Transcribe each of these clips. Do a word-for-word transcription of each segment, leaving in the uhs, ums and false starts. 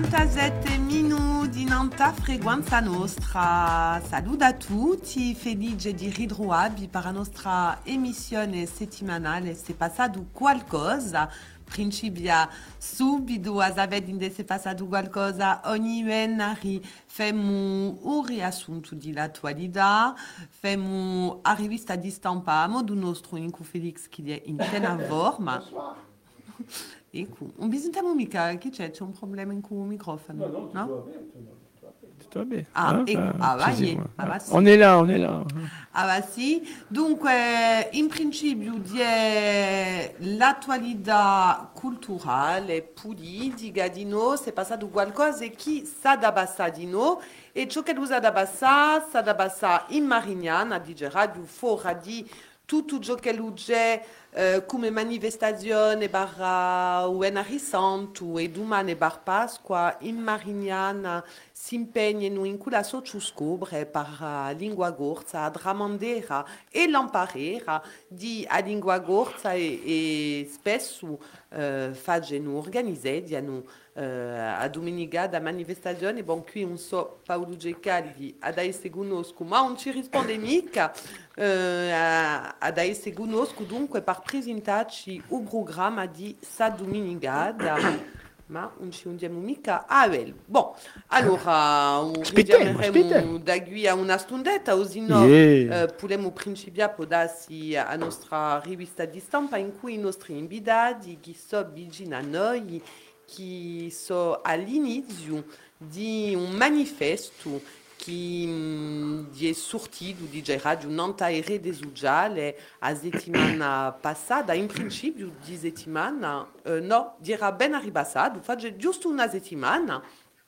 quarantasette minuti in alta frequenza nostra. Saluto a tutti, felice di ritrovarvi per la nostra emissione settimanale Se passato qualcosa. Principia subito a sapere se è passato qualcosa. Ogni venerdì facciamo un riassunto dell'attualità, facciamo la rivista di stampa a modo nostro in cui Felix che è in piena forma. Ecco, non bisogna mica, che c'è? C'è un problema con il microfono? No, non, no? Tutto va bene. Ah, Ah, ecco, ah, ah, va, sì, sì, yeah, ah, ah, va, sì. on est là, on est là. Ah, va, sì. Dunque, in principio, di l'attualità culturale, politica di noi, è passato qualcosa che sa da passare di noi, e ciò che sa da passare, sa da passare in Marignana, di radio, fuori di tutto ciò che c'è eh, come manifestazione barra Uena Santo e domani bar Pasqua in Marignana si impegnano in quella socio scobre per la lingua gorza, dramandera e l'amparera di a lingua gorza e, e spesso eh, facciano organizzano eh, a domenica da manifestazione. Bon, qui non so Paolo Gecaldi adesso conosco, ma non ci risponde mica. Uh, adesso conosco dunque per presentarci un programma di sa domenicada, ma non ci andiamo mica a vel. Bon, allora Aspettiamo, richiameremo aspettiamo. da qui a una stundetta, così no Yeah. uh, possiamo principiare a darsi a nostra rivista di stampa in cui i nostri invitati che sono vicini a noi, che sono all'inizio di un manifesto che mh, è sortito di radio Nantaire des Uggiale a settimana passata, in principio di settimana, eh, no, dirà ben arrivato, fa giusto una settimana,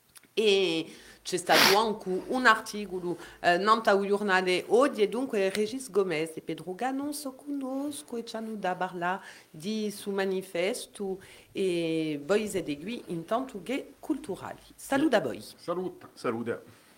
e c'è stato anche un articolo eh, Nanta un giornale oggi, e dunque Regis Gomez e Pedro Ganon conosco e ci hanno da parlare di su manifesto e voi siete qui intanto che culturali. Saluto a voi. Saluta. Saluta.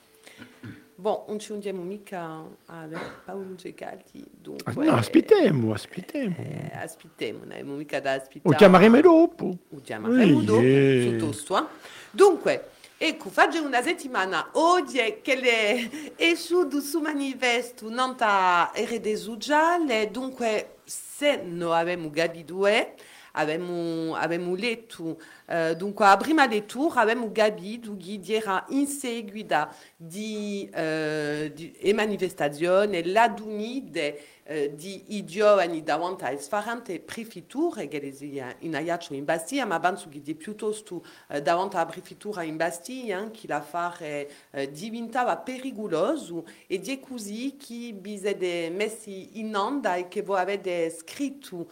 Bon, non ci andiamo mica a Paolo Gecaldi, dunque... No, aspettiamo, aspettiamo. Eh, aspettiamo, non abbiamo mica da Lo aspettare. chiameremo dopo. Lo chiameremo dopo, Yeah. piuttosto. Eh? Dunque, ecco, faccio una settimana oggi che le è su su manifesto Nanta R D Uggiale, dunque se non abbiamo capito abbiamo, abbiamo letto, eh, dunque a prima lettura abbiamo capito che era in seguita di, eh, di e manifestazione la dunide eh, di i giovani davanti a differenti prefetture che in aiaccio in Bastiglia, ma penso che piuttosto eh, davanti alla prefettura in Bastiglia che l'affare eh, diventava pericoloso, e di così che bisogna messi in onda e che voi avete scritto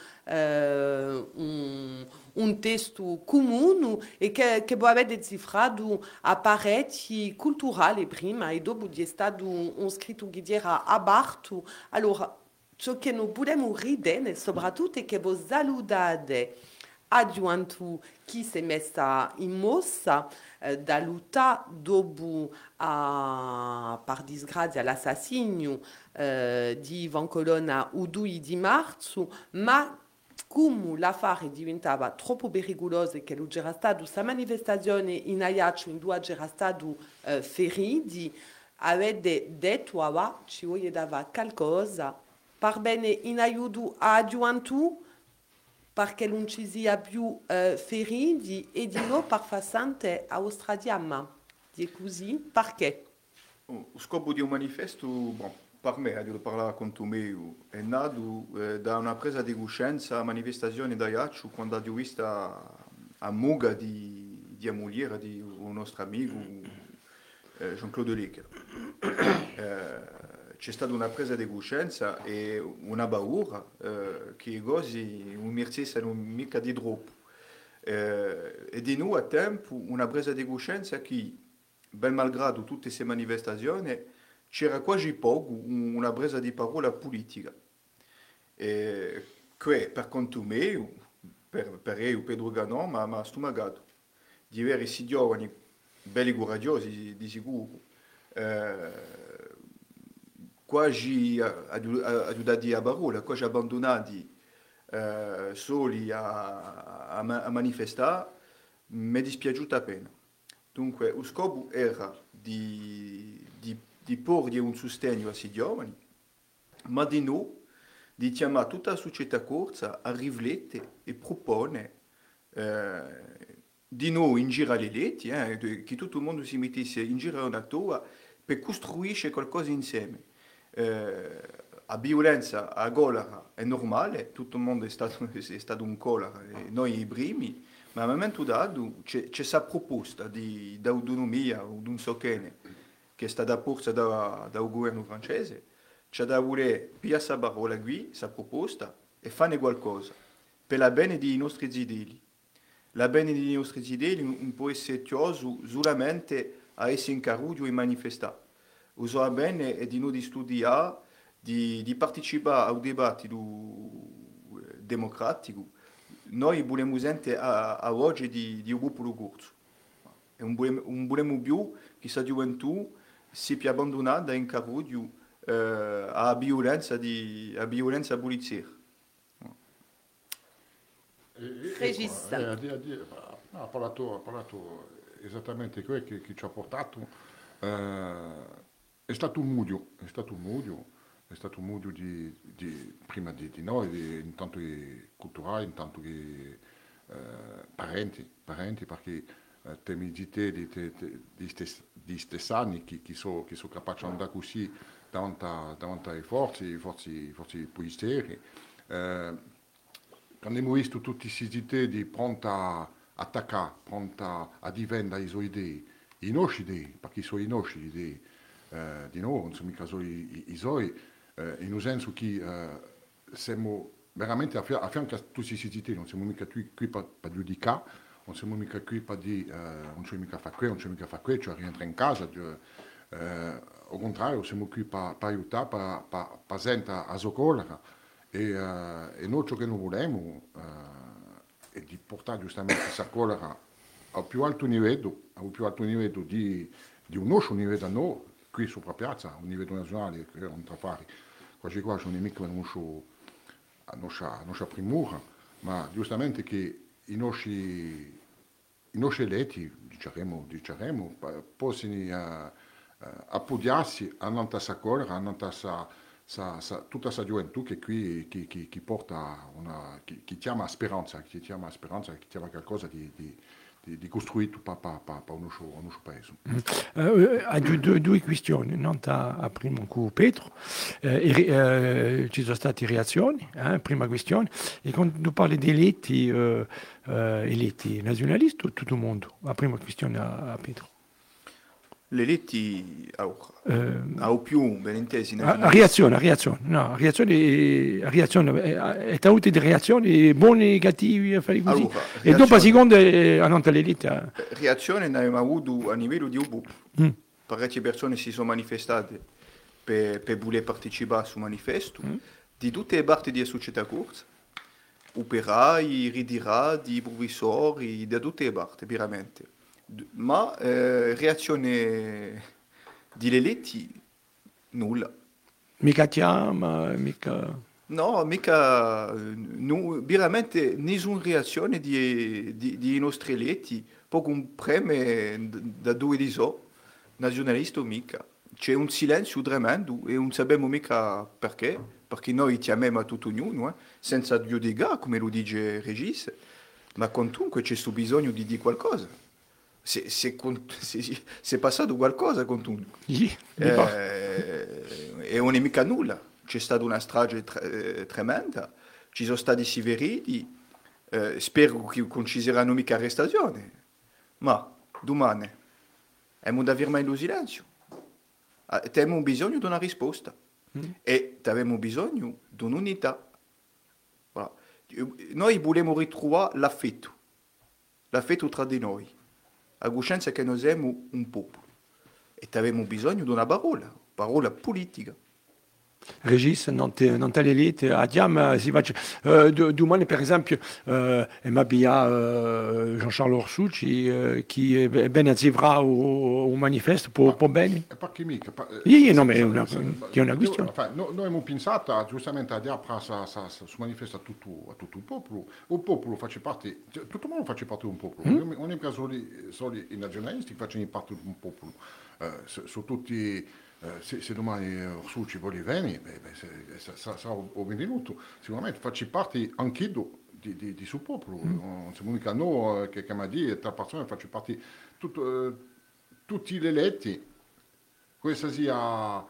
eh, un, un testo comune e che, che voi avete cifrato a pareti culturali prima e dopo è stato un, un scritto che era aperto. Allora, ciò che non possiamo ridere soprattutto è che voi salutate a gioventù che si è messa in mossa eh, da lottare dopo, a, per disgrazia, l'assassinio eh, di Ivan Colonna il due di marzo, ma come l'affare diventava troppo pericoloso e che non c'era stata questa manifestazione in Ajaccio in due c'era stato eh, feriti, avete detto che ci voleva qualcosa per bene in aiuto a gioventù perché non ci sia più eh, feriti e di no per far sentire a vostra diamma. Di così, perché? O scopo di un manifesto, bon, per me, devo parlare con tu mio, è nato eh, da una presa di coscienza a manifestazione da Iaccio quando ho visto a Muga di, di Amuliera, di un nostro amico eh, Jean-Claude Lecker. Eh, c'è stata una presa di coscienza e una paura eh, che così un mercese non mica di troppo. Eh, e di nuovo a tempo una presa di coscienza che, ben malgrado tutte queste manifestazioni, c'era quasi poco una presa di parola politica. E che per conto mio, per, per io, Pedro Ganon, ma mi ha stomacato di avere questi giovani belli coraggiosi di sicuro. Eh, quasi aiutati a parola, quasi abbandonati eh, soli a, a, a manifestare, mi è dispiaciuta appena. Dunque, lo scopo era di, di, di porre un sostegno a questi giovani, ma di no, di chiamare tutta la società corsa a riflettere e propone eh, di no in giro alle letti, eh, che tutto il mondo si mettesse in giro una toa per costruire qualcosa insieme. Eh, la violenza, la colera è normale, tutto il mondo è stato, è stato un colera, e noi i primi, ma al momento dato c'è questa proposta di autonomia o non so che, che è stata posta da, dal governo francese, c'è da voler pigliare questa parola qui, questa proposta, e fare qualcosa per la bene dei nostri zideli. La bene dei nostri zideli non può essere chioso solamente a essere in carruggio e manifestare. La bene è di noi di studiare, di, di partecipare al dibattito democratico. Noi vogliamo sentire a, a oggi di, di un popolo corso. E non vogliamo, non vogliamo più che questa gioventù sia più abbandonata in carruggio eh, alla violenza, di, alla violenza polizia. Regis. Eh, ha, ha, ha, parlato, ha parlato esattamente quello che, che ci ha portato. Eh, è stato un mudio, è stato un mudio, è stato un mudio di, di, prima di, di noi, di, intanto che culturali, intanto che eh, parenti, parenti, perché eh, temi di te, di, di, di, stes, di stessani, che, che sono so capaci di andare così davanti, davanti ai forzi, forzi, forzi poliziotti. Eh, Quando abbiamo visto tutti questi idee pronti a attaccare, pronti a difendere le sue idee, i nostri idee, perché sono i nostri idee, eh, di noi, non sono mica solo i, i suoi, eh, in un senso che eh, siamo veramente a, fia- a fianco a tutti questi idee, non siamo mica qui, qui per, per giudicare, non siamo mica qui per dire eh, non c'è mica fare quello, non c'è mica fare quello, cioè rientra in casa, cioè, eh, al contrario, siamo qui per, per aiutare, per, per, per sentire a soccorrere. E, uh, e noi ciò che noi vogliamo uh, è di portare giustamente questa colera al più alto livello, al più alto livello di, di un nostro livello a noi, qui sopra piazza, un livello nazionale, che non tra fare. Quasi qua sono mica la nostra, nostra primura, ma giustamente che i nostri, i nostri eletti, diciamo, diciamo possano uh, uh, appoggiarsi a questa colera, a questa Sa, sa, tutta questa gioventù che qui chi, chi, chi porta una chi, chi chiama speranza, chi chiama speranza, chi chiama qualcosa di, di, di, di costruito per pa, pa, pa un nostro paese. Uh, ha due, due questioni, non a, a prima con Pietro, uh, uh, ci sono state reazioni, eh, prima questione, e quando tu parli di eletti, uh, uh, eletti nazionalisti o tutto il mondo? La prima questione a, a Pietro. Le eletti au, Eh, au più ben intesi a, a reazione, a reazione, no, reazione, a reazione, è avuto di reazioni buone, cattive, così. Allora, E dopo a seconda hanno l'elite. Reazione ne abbiamo avuto a livello di U B U. Mm. Parecchie persone si sono manifestate per, per voler partecipare al manifesto mm. di tutte le parti della società corsa, operai, ritirati, professori, da tutte le parti, veramente. Ma eh, reazione di eletti nulla. Mica chiama, mica... No, mica, no, veramente nessuna reazione di, di, di nostri eletti, poco un premio da due di so, nazionalista mica. C'è un silenzio tremendo e non sappiamo mica perché, perché noi chiamiamo a tutto ognuno, eh, senza giudicare, come lo dice Regis, ma comunque c'è questo bisogno di dire qualcosa. Se, se, se, se è passato qualcosa con tu sì, eh, e non è mica nulla, c'è stata una strage tre, tremenda, ci sono stati severiti, eh, spero che non ci saranno mica arrestazioni, ma domani abbiamo da firmare lo silenzio, abbiamo bisogno di una risposta mm. e abbiamo bisogno di un'unità. Voilà. Noi vogliamo ritrovare l'affetto, l'affetto tra di noi. A coscienza che noi siamo un popolo e abbiamo bisogno di una parola, parola politica. Regis, non te, non te l'élite, abbiamo, si faccia, eh, do- domani per esempio, eh, abbiamo eh, Jean-Charles Orsucci eh, che eh, bene zivra o, o manifesto, può, può bene? E perché mica? Pa- eh, Io, io se- no, ma è se- una, se- è una io- questione. enfin, no- noi abbiamo pensato giustamente a dire sa, sa, sa, si manifesta a tutto, a tutto il popolo, il popolo fa parte, cioè, tutto il mondo fa parte di un popolo, Mm? non è mica solo, solo i nazionalisti che facciano parte di un popolo, eh, su, su tutti, eh, se, se domani eh, Orsucci vuole venire, beh, beh, se, se, sarà sa, o benvenuto, sicuramente faccio parte anch'io di, di, di suo popolo, Mm. non siamo mica noi eh, che, che mi ha detto, tra persone faccio parte, tutto, eh, tutti gli eletti, questa sia a,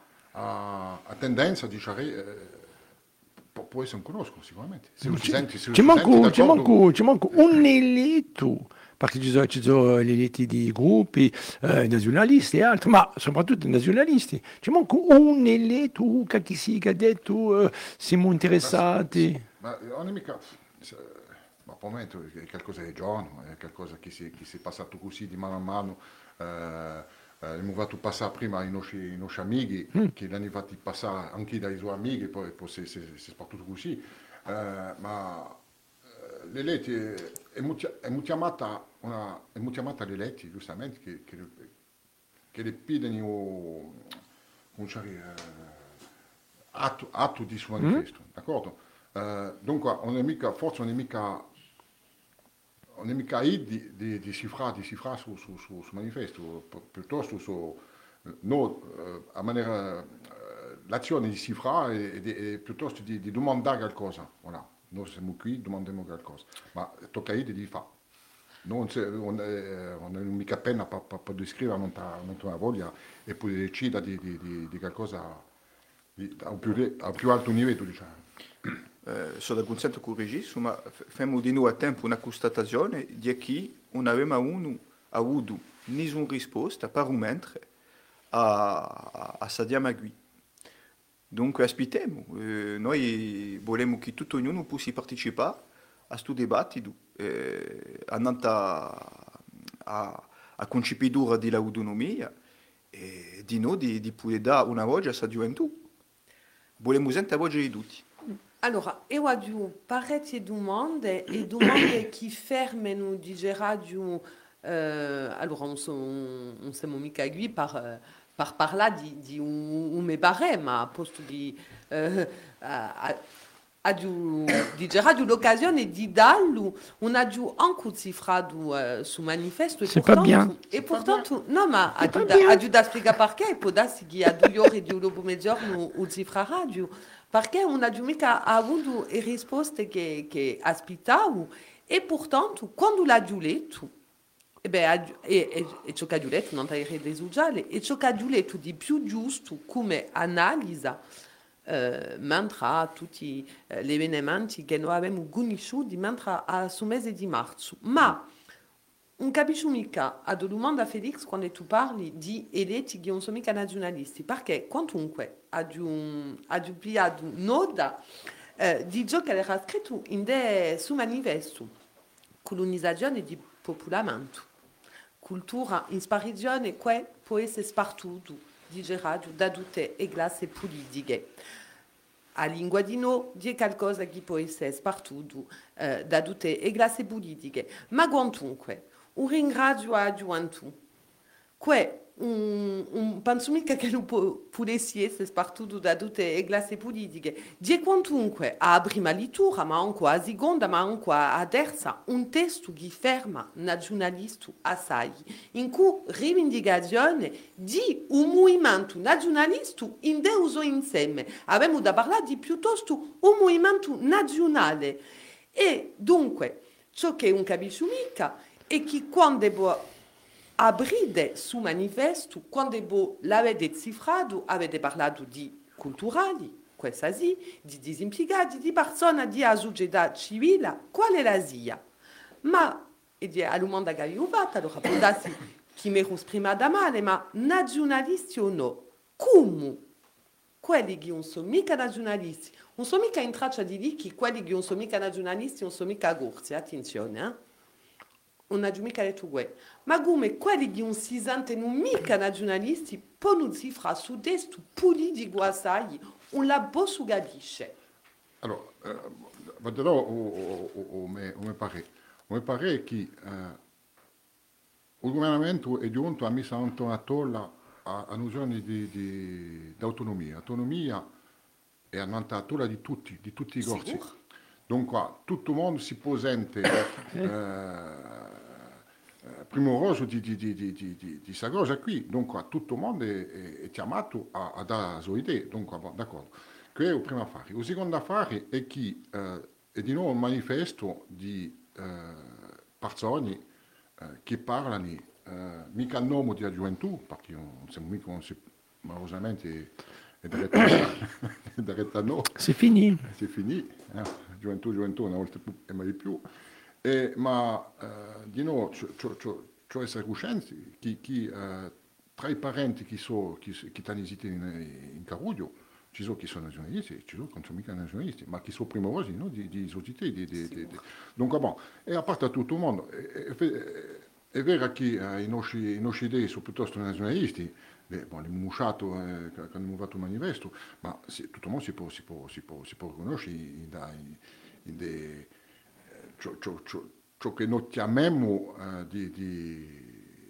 a tendenza di dire, eh, può, può essere un conosco sicuramente. Se lo si Ci, sente, se lo ci si sente manco, ci d'accordo, manco, ci manco un eletto, perché ci sono, ci sono gli eletti di gruppi eh, nazionalisti e altri, ma soprattutto nazionalisti. Ci manco un eletto che chi si che ha detto eh, siamo interessati. ma non è mica, se- ma per me è qualcosa di giorno, è qualcosa che si, che si è passato così di mano a mano. Eh, eh, abbiamo fatto passare prima i nostri, i nostri amici, che l'hanno fatti passare anche dai suoi amici, poi, poi si, si, si è spartito così. Eh, ma eh, le eletti è, è, molto- è molto chiamata una, è molto chiamata le eletti, giustamente, che, che, che le pidono, come dire, eh, atto, atto di suo manifesto, d'accordo? Eh, dunque, non è mica, forse non è mica, non è mica lì di, di, di cifrare, di cifrare su, su, su, su manifesto, pi- piuttosto su, eh, no, eh, a maniera, eh, l'azione di cifrare e, di- e piuttosto di, di domandare qualcosa, voilà. Noi siamo qui, domandiamo qualcosa, ma tocca a lì di fare. Non, c'è- non, è- non è mica pena per, per, per descrivere, non ha una voglia e poi decidere di, di, di, di qualcosa di, a, un più, le- a un più alto livello, diciamo. Eh, sono d'accordo con il regista, ma f- facciamo di nuovo a tempo una constatazione di che non avevamo uno, avuto nessuna risposta per un mentre a, a, a Sadia Magui. Dunque aspettiamo, eh, noi vogliamo che tutto ognuno possa partecipare a questo dibattito, eh, andando a, a, a concepidura dell'autonomia e di noi di, di poter dare una voce a questa gioventù. Vogliamo sentire la voce di tutti. Allora, io ho parecchie domande e domande che fermano di radio. Euh, allora, non siamo, non siamo mica qui per, eh, per parlare di, di un, un me barème, ma a posto di, eh, a, a, a di, di radio l'occasione di darlo, on a giù anche cifrato eh, su manifesto e C'est pas bien. e portanto, no, ma a giù pas da, bien. a giù da spiegare perché, e può darsi che a due ore di un dopo mezzogiorno o cifra radio. Perché non abbiamo mica avuto le risposte che, che aspettavo e portanto quando l'ha letto e, beh, e, e, e ciò che ha letto non è reso sociale e ciò che ha letto di più giusto come analisi eh, mentre tutti eh, gli avvenimenti che noi abbiamo conosciuti mentre a su mese di marzo ma non capisco mica a domanda a Felix quando tu parli di eletti che non sono mica nazionalisti, perché quantunque ha pigliato nota eh, di ciò che era scritto in de, su manifesto, colonizzazione di popolamento, cultura in sparizione che può essere spartuto, digerato da tutte le classi politiche. A lingua di no di qualcosa che può essere spartuto eh, da tutte le classi politiche, ma quantunque un ringrazio a gioventù, che un, un penso mica che lo potesse essere spartuto da tutte le classi politiche, di quantunque a prima lettura, ma anche a seconda, ma anche a terza, un testo che ferma nazionalista assai, in cui rivendicazione di un movimento nazionalista in Deus insieme. Abbiamo da parlare di piuttosto un movimento nazionale. E dunque, ciò che non capisco mica e che quando devo aprire su manifesto, quando l'avete cifrato, avete parlato di culturali, questa sì, di disimpiegati, di persone di società civile, qual è la sia? Ma, e di a domanda che avevo fatto, allora può darsi che mi ero esprimata male, ma nazionalisti o no? Come? Quelli che non sono mica nazionalisti, non sono mica in traccia di lì che quelli che non sono mica nazionalisti non sono mica gorsi, attenzione, eh? Non ha mica detto questo. Ma come quelli che non si sentono mica nazionalisti, poi non si fa su testo politico assai, un la bossugadisce. Allora, eh, vedrò o, o, o, me, o me pare. O me pare che eh, il governamento è giunto a messa intorno a tolla a, a nozioni di, di, di autonomia. Autonomia è a tolla di tutti, di tutti i corsi. Sicuro. Dunque, tutto il mondo si può sentire eh, primoroso di, di, di, di, di, di, di questa cosa qui. Dunque, tutto il mondo è, è, è chiamato a, a dare le sue idee. Dunque, bon, d'accordo. Questo è il primo affare. Il secondo affare è che eh, è di nuovo un manifesto di eh, persone eh, che parlano eh, mica a nome della gioventù, perché non siamo mica, non si, malosamente è diretta a noi. C'est fini. C'est fini, eh? Gioventù, gioventù, una volta più e mai di più. Eh, ma eh, di nuovo, c'è essere coscienti che, che eh, tra i parenti che sono che, che stanno esistendo in, in Caruglio, ci sono chi sono nazionalisti, ci sono che non sono mica nazionalisti, ma chi sono primorosi, no? di, di società. Di, di, di, di. Dunque, bon, e a parte tutto il mondo, è, è, è vero che eh, i, nostri, i nostri idee sono piuttosto nazionalisti, beh, bon, abbiamo usciato, eh, quando abbiamo fatto il manifesto, ma sì, tutto il mondo si può, si può, si può, si può riconoscere in, in, in de, ciò, ciò, ciò, ciò che noi chiamiamo eh, di... di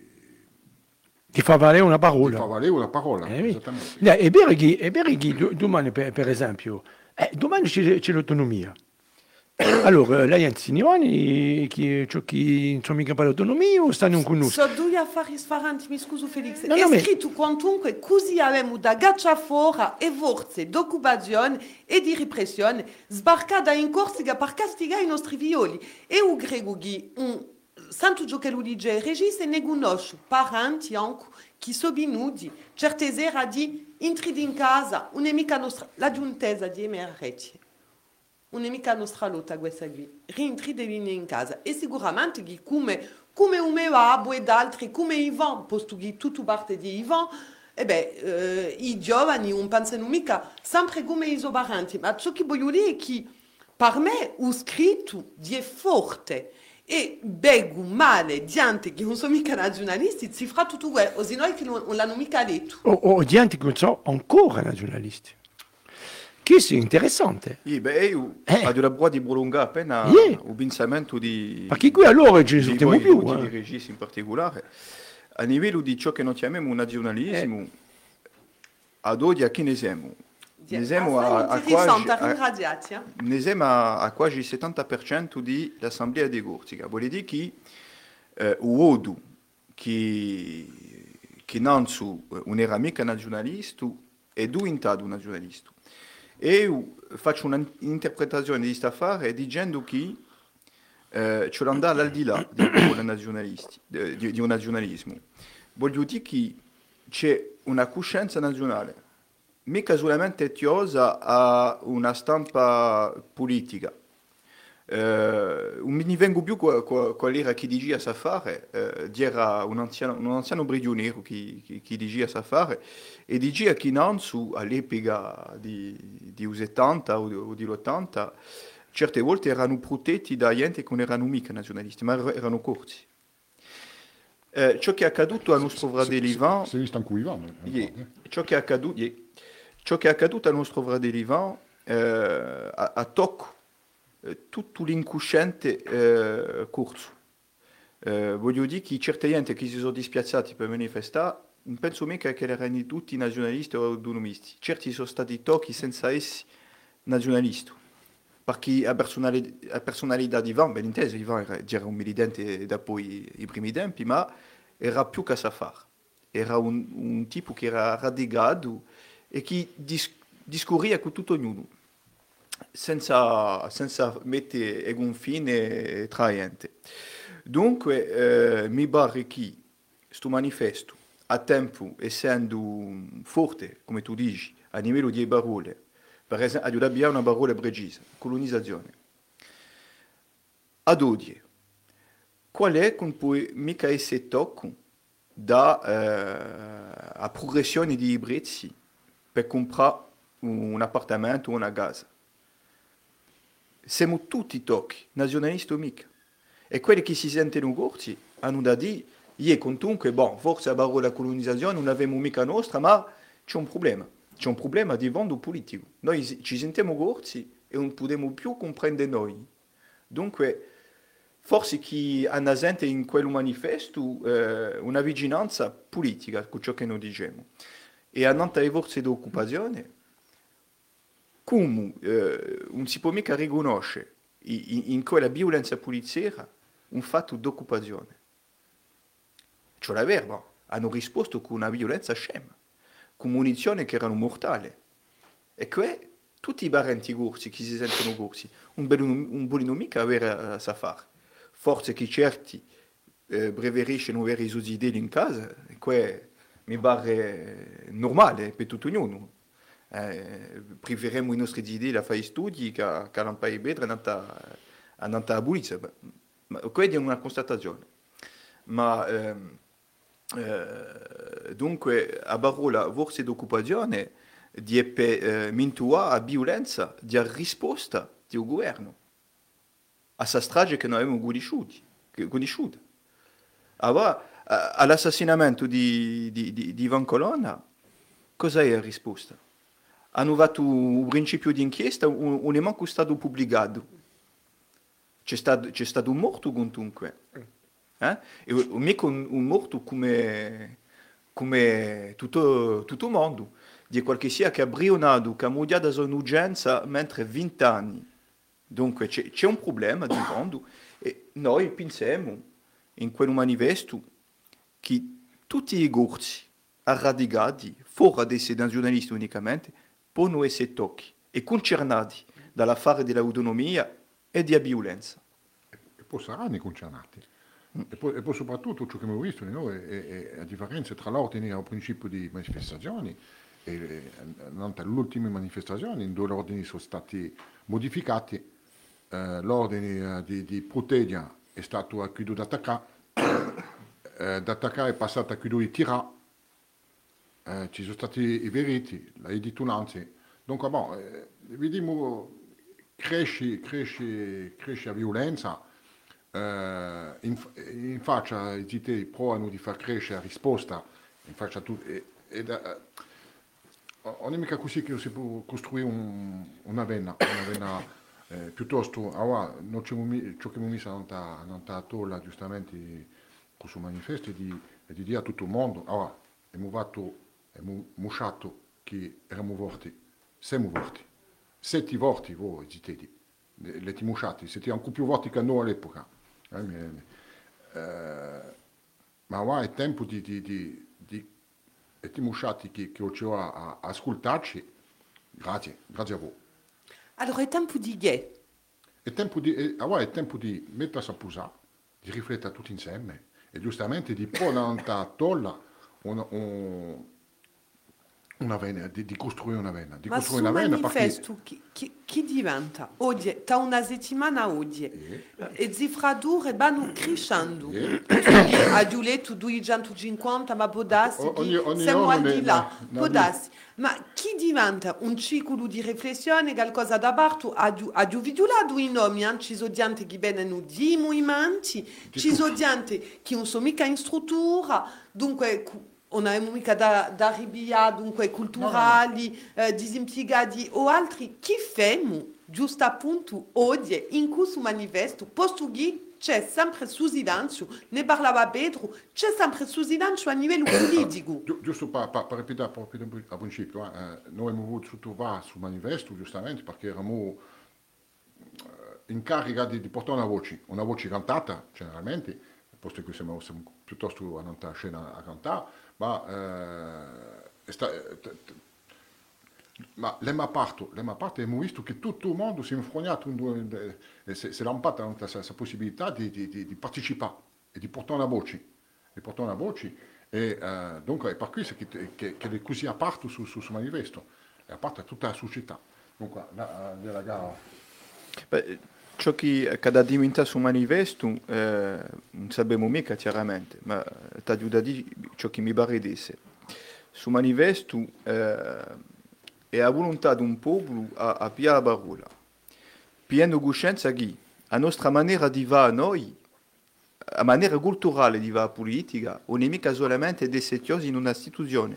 Ti fa valere una parola. Ti fa valere una parola, eh, esattamente. Yeah, è vero che, è vero che domani, per, per esempio, eh, domani c'è, c'è l'autonomia. Allora, lei insinuani che ciò che non sono mica per l'autonomia o stanno con noi? So due affari sfaranti, mi scuso Felix. No, è no, ma- scritto quantunque così abbiamo da gaccia fuori e forze d'occupazione e di repressione sbarcata in Corsica per castigare i nostri violi. E un grego che un santo gioco che lo dice regisse ne conosce parenti anche che sono venuti certe sera di entrare in casa un'amica nostra, la giuntesa di emergenza. Un'amica nostra lotta questa qui, rientri di venire in casa e sicuramente che come, come un mio babbo ed altri, come Ivan, posto che tutto parte di Ivan, e beh, eh, i giovani non pensano mica sempre come i sobaranti, ma ciò che voglio dire è che per me ho scritto di forte e bego male gente che non sono mica nazionalisti, si fa tutto quello, o se no che non, non l'hanno mica detto. O, o gente che non sono ancora nazionalisti. Che è interessante. Sì, beh, io Eh. ho la brua di prolungare appena Yeah. un pensamento di... Perché qui allora ci di risultiamo voi più. tutti, di Eh. registi in particolare, a livello di ciò che noi chiamiamo nazionalismo, ad oggi a chi ne siamo? Ne siamo a, a quasi, a, ringraziati. Eh? ne siamo a, a quasi il settanta per cento dell'Assemblea di Corsica. Vuol dire che eh, uodo che, che non su un era mica nazionalista e due in un nazionalista. E io faccio un'interpretazione di questo affare dicendo che eh, ci vuole andare al di là di, di, di, di un nazionalismo. Voglio dire che c'è una coscienza nazionale, mica solamente tiosa a una stampa politica. Eh, non mi vengo più qual era chi diceva sa fare, eh, era un anziano, un anziano prigioniero che, che, che diceva sa fare e diceva che non su all'epoca di, di settanta o, o di ottanta certe volte erano protetti da gente che non erano mica nazionalisti, ma erano corsi. Eh, ciò che è accaduto a nostro fratello Ivan, Se visto anche Ivan. yeah, ciò che è accaduto, yeah, ciò che è accaduto a nostro fratello Ivan eh, a, a tocco tutto l'incosciente eh, corso. Eh, voglio dire che certe gente che si sono dispiazzati per manifestare, non penso mica che erano tutti nazionalisti o autonomisti. Certi sono stati tocchi senza essere nazionalisti. Perché la personalità, la personalità di Ivan, ben inteso, Ivan era, era un militante dopo i, i primi tempi, ma era più che sa fare. Era un, un tipo che era radicato e che dis, discorria con tutto ognuno. Senza, senza mettere un fine traente. Dunque, eh, mi pare che questo manifesto, a tempo, essendo forte, come tu dici, a livello di parole, per esempio, abbiamo una parola precisa, colonizzazione. Ad oggi, qual è che può mica essere tocco da eh, a progressione di prezzi per comprare un appartamento o una casa? Siamo tutti tocchi, nazionalisti o mica. E quelli che si sentono corsi hanno da dire, io comunque, bon, forse la parola colonizzazione non l'abbiamo mica nostra, ma c'è un problema. c'è un problema di fondo politico. Noi ci sentiamo corsi e non possiamo più comprendere noi. Dunque, forse chi ha presente in quel manifesto eh, una vicinanza politica con ciò che noi diciamo. E a Nantes forze di occupazione, come eh, non si può mica riconoscere in, in quella violenza poliziotta un fatto di occupazione. Cioè la verba hanno risposto con una violenza scema, con munizioni che erano mortali. E che tutti i parenti corsi, chi si sentono corsi, un non vogliono mica avere a sa fare. Forse che certi eh, preferiscono avere i suoi idee in casa, e que mi pare normale per tutto ognuno. Eh, preferiamo i nostri idee da fare studi che, che non fare bene andare a Bulizia. Ma questa è una constatazione. Ma ehm, eh, dunque, a parola forse d'occupazione di eh, mintua a violenza di risposta del governo a questa strage che noi abbiamo conosciuto. Allora, all'assassinamento di, di, di, di Ivan Colonna, cosa è la risposta? Hanno fatto un principio di inchiesta, non è manco stato pubblicato. C'è stato, c'è stato un morto comunque. Eh? E mica un, un morto come, come tutto, tutto il mondo. Di qualche sia che ha brionato, che ha modiato un'urgenza mentre venti anni. Dunque c'è, c'è un problema di fondo e noi pensiamo in quel manifesto che tutti i corsi radicati, fuori da essere giornalisti unicamente, possono essere tocchi e concernati dall'affare dell'autonomia e della violenza. E poi saranno concernati. E poi, e poi soprattutto ciò che abbiamo visto noi è, è, è la differenza tra l'ordine e il principio di manifestazioni. E, e, le ultime manifestazioni, due ordini sono stati modificati. Eh, l'ordine di, di Protedia è stato a chiudo d'attaccare, eh, d'attaccare è passato a chiudo di tirare, eh, ci sono stati i veriti, le editunanze. Dunque, bon, eh, vediamo, cresce, cresce, cresce la violenza, eh, in, in faccia i G T provano di far crescere la risposta, in faccia tu, e, e da, non è mica così che si può costruire un, una vena, una vena Eh, piuttosto, allora, non c'è ciò che mi messa non sta tolla giustamente con suo manifesto di, di dire a tutto il mondo, allora, abbiamo fatto, abbiamo musciato che eravamo morti, siamo morti, sette morti voi, zitedi, le ti musciati, siete ancora più morti che noi all'epoca, eh, eh, ma ora è tempo di, di, di, di e ti musciati che, che ho a, a ascoltarci, grazie, grazie a voi. Allora è tempo di che? È tempo di, è, allora è tempo di mettersi a posare, di riflettere tutti insieme e giustamente di porre a tolla una, un, una vena, di, di costruire una vena. Di Ma costruire sul una vena manifesto perché... chi, chi, chi diventa? Oggi, da una settimana oggi, Yeah. e zifradure vanno crescendo. Yeah. A Giuletto duecentocinquanta, ma può darsi O- ogni- che ogni siamo giorno al di ne- là, ne- può ne- darsi. Ma chi diventa un ciclo di riflessione, qualcosa da parte, ha giudicato i nomi, eh? Ci sono gente che vengono di movimenti, ci sono gente che non sono mica in struttura, dunque non abbiamo mica da, da ribia, dunque culturali, no, no, no. Eh, disimpiegati o altri, chi fanno giusto appunto oggi in questo manifesto, posto che c'è sempre su silenzio, ne parlava Pedro, c'è sempre su silenzio a livello politico. Gi- Giusto per, per, per ripetere proprio a principio, eh, noi abbiamo voluto trovare sul manifesto giustamente perché eravamo eh, in carica di, di portare una voce, una voce cantata generalmente, posto che siamo, siamo piuttosto a non stare a scena a cantare, ma, eh, sta, eh, t, t, ma l'emma parto, l'emma parte abbiamo visto che tutto il mondo si è infrognato, si è lampata questa possibilità di, di, di, di partecipare e di portare una voce, di portare una voce e uh, dunque è per questo che, che, che è così aperto su, su, su manifesto, è aperto a tutta la società. Dunque, la, la gara... Beh, ciò che ha diventato su manifesto eh, non sappiamo mica chiaramente, ma ti aiuta a dire ciò che mi pare di essere. Su manifesto eh, è la volontà di un popolo a, a piare la parola, pieno coscienza che la nostra maniera di va a noi, la maniera culturale di va a politica, non è mica solamente di essere chiusi in un'istituzione,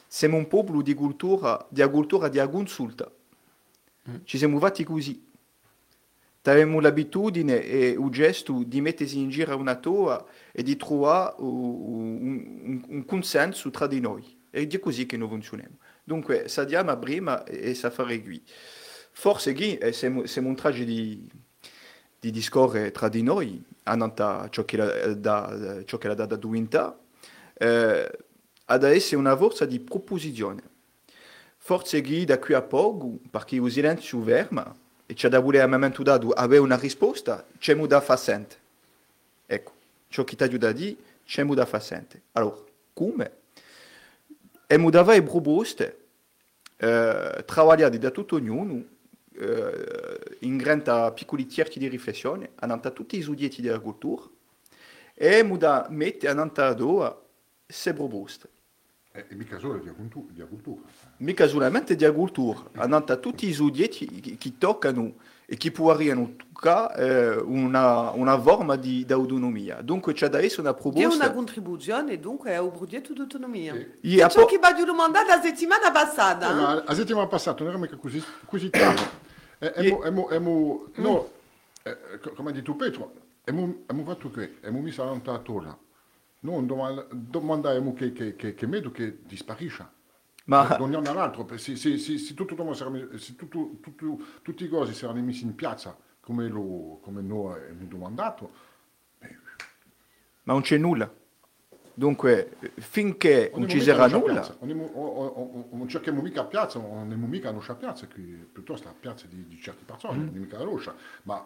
siamo un popolo di cultura di cultura di consulta. Mm. Ci siamo fatti così. Avevamo l'abitudine e il gesto di mettersi in giro una toa e di trovare un, un, un consenso tra di noi. E è così che noi funzioniamo. Dunque, sadiamo prima e sa fare qui. Forse qui siamo un traje di, di discorrere tra di noi, annanta ciò che la da, ciò che la data duinta, eh, ad essere una forza di proposizione. Forse qui da qui a poco, perché il silenzio ferma, e c'è da volere a momento dato avere una risposta, c'è da facente. Ecco, ciò che ti aiuta a dire, c'è da facente. Allora, come? E mi dava le proposte, eh, lavorare da tutto ognuno, eh, in grandi piccoli cerchi di riflessione, annanta tutti i studenti della cultura, e mi da mettere annanta a due queste proposte. E, e mica solo di cultura. Mica solamente di cultura, annanta tutti i studenti che toccano e che può toccare eh, una, una forma di autonomia. Dunque c'è da essere una proposta. È una contribuzione dunque a un progetto di autonomia. Sì. È ciò che va di domandare la settimana passata. No, eh? La settimana passata non era mica così, così tanto. E, e, e, e, e, no, eh, come hai detto Pietro, abbiamo fatto che, abbiamo messo la torre. Non domandiamo che, che, che, che medo che disparisce. Ma non è un altro, se, se, se, se, tutto, se tutto, tutto, tutti i cosi saranno messi in piazza come, lo, come noi abbiamo domandato, beh. Ma non c'è nulla. Dunque, finché non ci sarà nulla... Non cerchiamo mica a piazza, non abbiamo mica a piazza, qui, piuttosto a piazza di, di certe persone, mm. non è mica la roscia, ma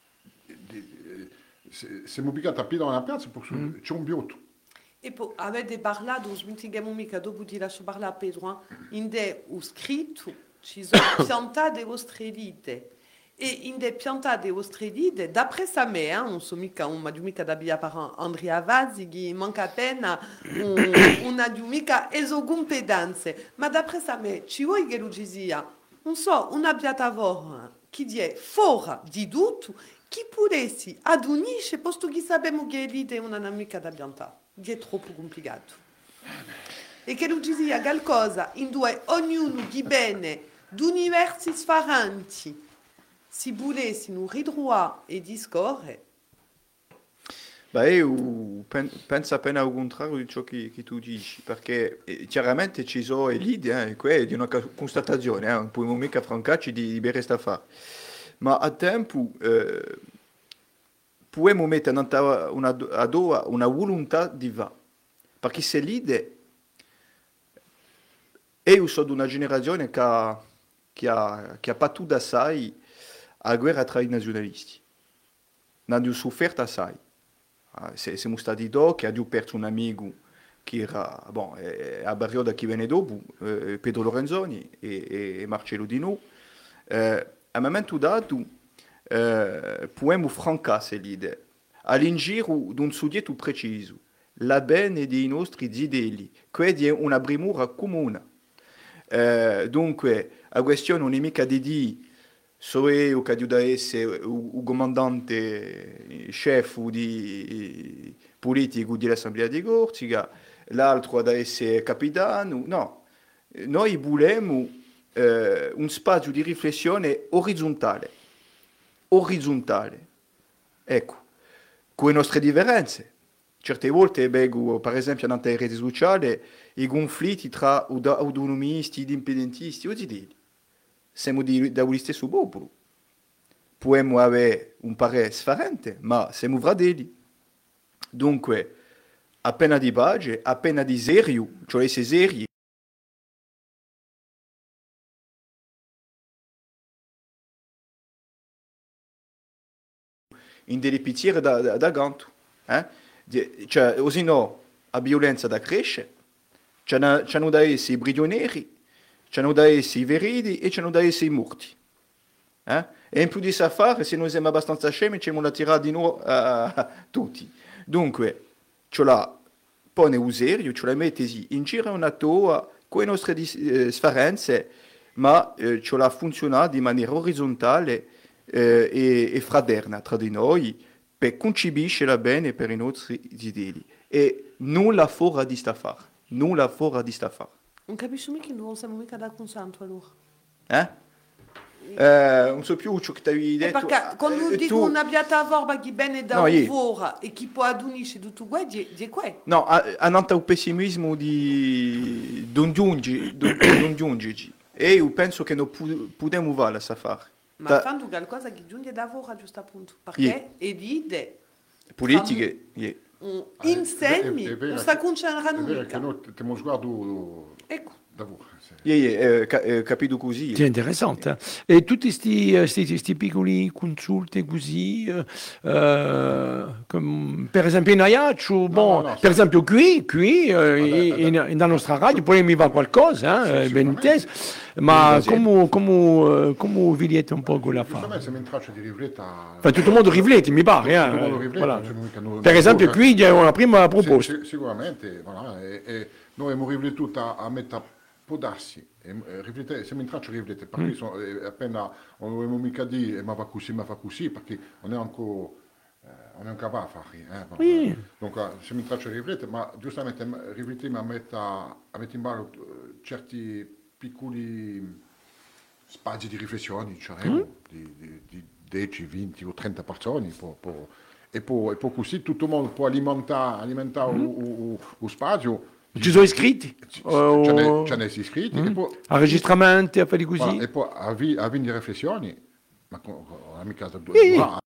se siamo piccati a piedi nella piazza perché mm. c'è un biotto. E poi avete parlato, smettiamo mica dopo di lasciare parlare a Pedro, in de ho scritto ci sono piantate ostrelite e in de piantate ostrelite, d'après sa me, non so mica un mica da via per Andrea Vazzi, che manca appena una mica esogumpedanze, ma d'après sa me, ci vuoi che lo sia, non so, una piattaforma che è fuori di tutto, che potessi ad unisce, posto che sappiamo che l'idea è una amica da piantare. È troppo complicato. E che non ci sia qualcosa in due ognuno che bene d'universi differenti si volessero ritrovare e discorrere. Beh, io penso appena al contrario di ciò che, che tu dici, perché eh, chiaramente ci sono l'idea, eh, è di una constatazione, eh, non possiamo mica francarci di, di bere sta fare. Ma a tempo eh, possiamo mettere una, una, una volontà di va, perché se l'idea io sono di una generazione che ha, che ha, che ha pattuto assai la guerra tra i nazionalisti, non ha sofferto assai. Siamo stati due che abbiamo perso un amico che era bon, eh, a Barrioda che venne dopo, eh, Pedro Lorenzoni e, e Marcello Di Nu. Eh, a un momento dato eh, possiamo francare l'idea all'ingiro di un soggetto preciso, la bene dei nostri zideli, che è una brimura comune. Eh, dunque, la questione non è mica di dire so io che devo essere il comandante chef di politico dell'Assemblea di Corsica, l'altro deve essere capitano, no. Noi vogliamo eh, un spazio di riflessione orizzontale, orizzontale, ecco, con le nostre differenze. Certe volte vedo, per esempio, nelle reti sociali, i conflitti tra autonomisti ed indipendentisti, o di siamo di, da un stesso popolo. Possiamo avere un parere differente, ma siamo fratelli. Dunque, appena di pace, appena di serio, cioè se seri, in delle pizziere da, da, da ganto. Eh? Cioè, così no, la violenza da crescere, c'hanno da essere i prigionieri, c'hanno da essere i veridi e c'hanno da essere i morti. Eh? E in più di fare, se noi siamo abbastanza scemi, ci la tirare di noi uh, tutti. Dunque, ce la pone un serio, ce la mette in giro una toa con le nostre eh, differenze, ma eh, ce la funziona di maniera orizzontale eh, e, e fraterna tra di noi, per concepire bene per i nostri idei. E nulla fuori di sta fare. Nulla fuori di sta fare. Non capisco mica che non siamo mica da consanto allora. Eh? Eh, non so più ciò che ti avevi E detto. perché quando Eh, dico tu- una biata vorba che bene da No, io- lavoro e chi può adunisce tutto questo, è qua. No, a- hanno un pessimismo di non giungi, non non giungi. E io penso che non pu- possiamo fare questa fare. Ma Da- fanno qualcosa che giunge da lavoro a giusto appunto. Perché Yeah. e vide Politiche, yeah. un Ah, è- insemmi, è- è vero non sta che- concentrando È vero mica. che noi abbiamo sguardo Ecco. da voi. Sì. Yeah, yeah, eh, ca- eh, capito così. C'est interessant. eh. E tutti questi piccoli consulti così, eh, eh, come per esempio in Ajaccio, bon, no, per sì. esempio qui, qui eh, Vabbè, in, vabbè. nella nostra radio poi mi va qualcosa, eh, Sì, ben sicuramente. inteso, ma Sì, come, come, eh, come vedete un po' quella fa? Giustamente siamo in traccia di rifletta. Enfin, tutto il mondo riflette, mi pare. Tutto il eh, mondo riflette, voilà. non c'è mica noi- Per esempio noi- qui c'è una prima Sì, proposta. sì, sicuramente, voilà, e, e noi abbiamo riflettuto a, a metà può darsi, e, e riflette- siamo in traccia di riflettere, perché sono, e appena non abbiamo mica dire ma va così, ma fa così, perché non è ancora, eh, non è ancora a fare. Eh, voilà. Sì. Dunque siamo in traccia di riflettere, ma giustamente m- riflettiamo a mettere, a mettere in ballo eh, certi piccoli spazi di riflessione, diciamo, di, di, di dieci, venti o trenta persone, può- può- e, poi, e poi così tutto il mondo può alimentare, alimentare lo spazio. Ci sono iscritti? Ci Oh, ce n'è- ce n'è iscritti e poi, Enregistramenti, affari così? voilà, e poi avvi, avvi di riflessioni, ma con, con la mica da due Sì. ore,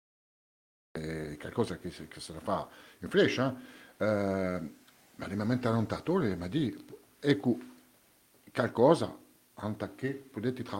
è qualcosa che, si- che se la fa in flash, eh? Eh, ma rimamente allontatore, ma di, ecco, qualcosa, anche che potete lavorare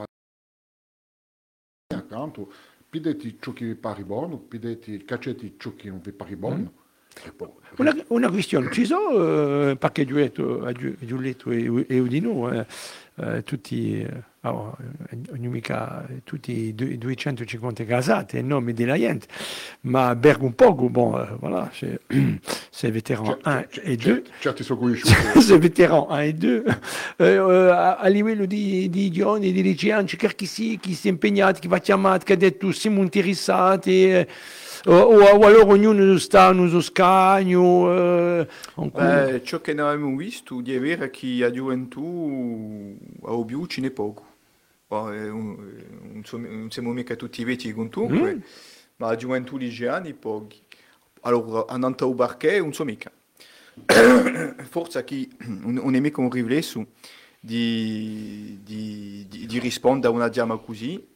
accanto, pidete ciò che vi pare buono, pidete caccetti ciò che non vi pare buono. E poi, Una, una questione, ci sono, eh, perché Giulietto, Giulietto e, e Udino, eh, eh, tutti, eh, oh, ogni mica, tutti due- duecentocinquanta casate, in nome della gente, ma Bergo un poco, bon, eh, voilà, c'est, c'est vétéran un et deux. certi sono conosciuti. C'est vétéran un et deux. Eh, eh, a, a livello di, di giovani, di liceani, c'è chi si, chi si è impegnato, chi va chiamato, che ha detto siamo interessati, eh, o, o allora ognuno sta nel suo scagno. Eh, ancora. Eh, ciò che noi abbiamo visto di avere che a gioventù a Obiu ce n'è poco. Bon, eh, un- non so- non siamo mica tutti vecchi con tu, ma a gioventù liceani pochi. Allora, andando a Barché non so mica. Forse che non è mica un riflesso di, di, di, di rispondere a una chiama così.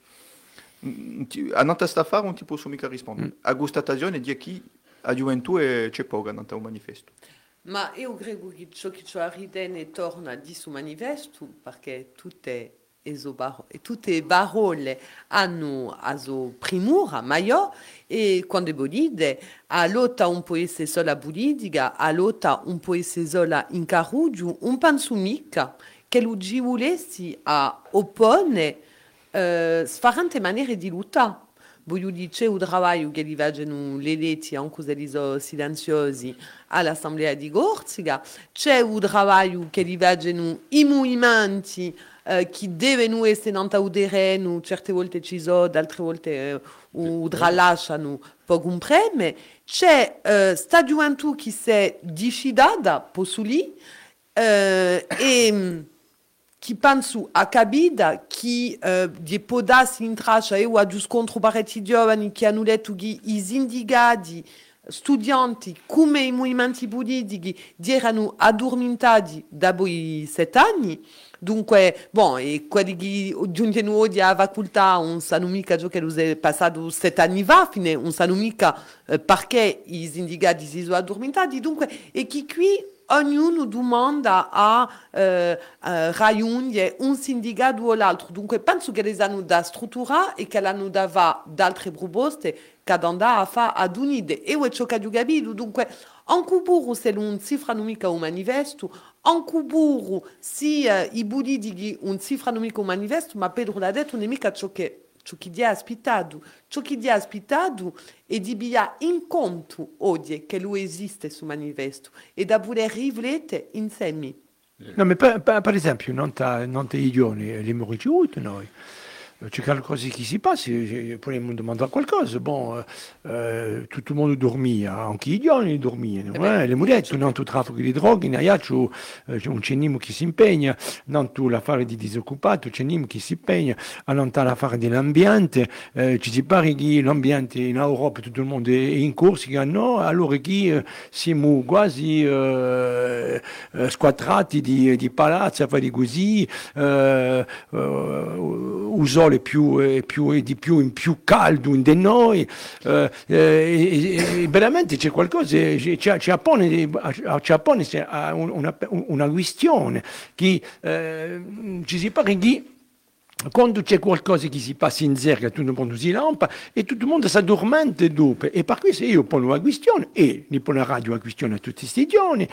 Mm, ti- A Nanta sta fare non ti posso mica rispondere. A questa stagione di chi a gioventù è- c'è poco a Nanta un manifesto. Ma io credo che ciò che ci ridene torna di su manifesto, perché tutte le baro- e tutte le parole hanno la sua primura maggiore, e quando è bolide, a lotta un può essere sola politica, a lotta un può essere sola in caruggio, un penso mica che lo ci volessi a oppone eh, sfarante maniere di lottare. Voglio dire, c'è un lavoro che li facciano le leggi, anche se sono silenziosi, all'Assemblea di Gorzica, c'è un lavoro che li facciano i movimenti eh, che devono essere nel terreno, certe volte ci sono, altre volte eh, un lasciano poco un premio, c'è eh, sta gioventù che si è diffidata, posso lì, eh, e che penso a capita che eh, di podarsi in traccia e a giusto contro parecchi giovani che hanno detto che i sindicati studenti come i movimenti politici erano addormentati dopo i sette anni. Dunque, bon, e quelli che giungono oggi alla facoltà non sanno mica ciò che è passato sette anni fa, fine, non sanno mica eh, perché i sindicati si sono addormentati. Dunque, e che qui ognuno domanda a eh, eh, raggiungere un sindacato o l'altro. Dunque, penso che le hanno da struttura e che l'hanno da fare altre proposte che andare a fare ad unire. E ciò che ho capito. Dunque, anche burro se non cifrano mica un manifesto, anche burro se eh, i politici non cifrano mica un manifesto, ma Pedro l'ha detto, non è mica ciò che ciò che ti ha aspettato, ciò che ti ha aspettato è di via in conto oggi che lui esiste su manifesto e da voler riflettere insieme. No, ma per, per, per esempio, non, ta, non te i giorni li abbiamo ricevuti noi. c'è qualcosa che si passa, eh, potremmo domandare qualcosa. Bon, eh, eh, tutto il mondo dormia, anche gli giovani dormivano, Eh beh, eh, le mujeres, non tutto traffico di droghe, in Aiaccio eh, c'è un cenimo che si impegna, non tu l'affare di disoccupato, c'è un che si impegna, a non l'affare dell'ambiente, eh, ci si pare che l'ambiente in Europa, tutto il mondo è in corsa, che no, allora che eh, siamo quasi eh, eh, squadrati di, di palazzi, a fare così, eh, eh, un sole più, eh, più, di più in più caldo in di noi, eh, eh, e veramente c'è qualcosa, c'è, c'è appone, c'è appone c'è una, una questione che eh, ci si pare che quando c'è qualcosa che si passa in zerga, tutto il mondo si lampa e tutto il mondo si addormenta dopo. E per questo io pongo una questione, e ne pongo la radio una questione a tutti questi giorni,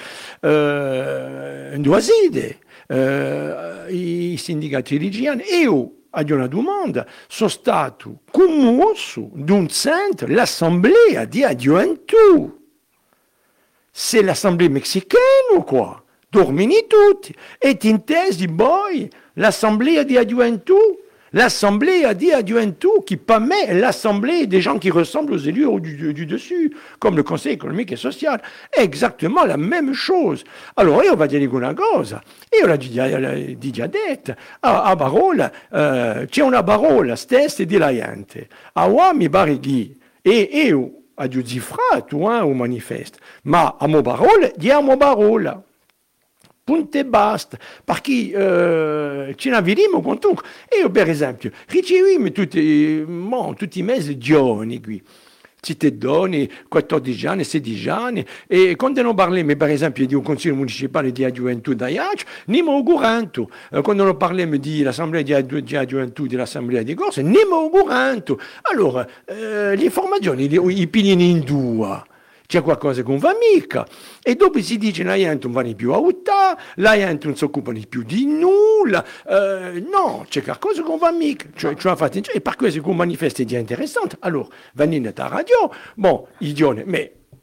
eh, due sede, eh, i sindicati religiosi, e io ho una domanda, sono stato commosso d'un centro, l'assemblea di gioventù. C'est l'assemblée mexicaine ou quoi? Dormini tutti. E ti intesi poi l'assemblée di gioventù? L'assemblée di gioventù qui per me è l'assemblée des gens qui ressemblent aux élus du, du dessus, comme le Conseil économique et social. È exactement la même chose. Allora io voglio dire una cosa, io l'ho già, già detto, a, a Barola eh, c'è una Barola stessa di la gente, a uomini barighi, e io a giudizifrato eh, un manifesto, ma a mo parole, diamo parola. Punto e basta, perché eh, ce ne vedremo con tu. Io, per esempio, riceviamo tutti, bon, tutti i mesi giovani qui, cittadini, quattordici anni, sedici anni, e quando non parliamo, per esempio, di un consiglio municipale di gioventù da Iac, ne mi augurando. Quando non parliamo dell'assemblea di, di gioventù, dell'assemblea di Corsa, ne mi augurando. Allora, eh, le informazioni, i pigliano in due. C'è qualcosa che non va mica, e dopo si dice la gente non va ne più a votare, la gente non si occupa di più di nulla, eh, no, c'è qualcosa che non va mica, cioè, cioè, infatti, e per questo che un manifesto è interessante, allora, venite a radio, bon, idione, ma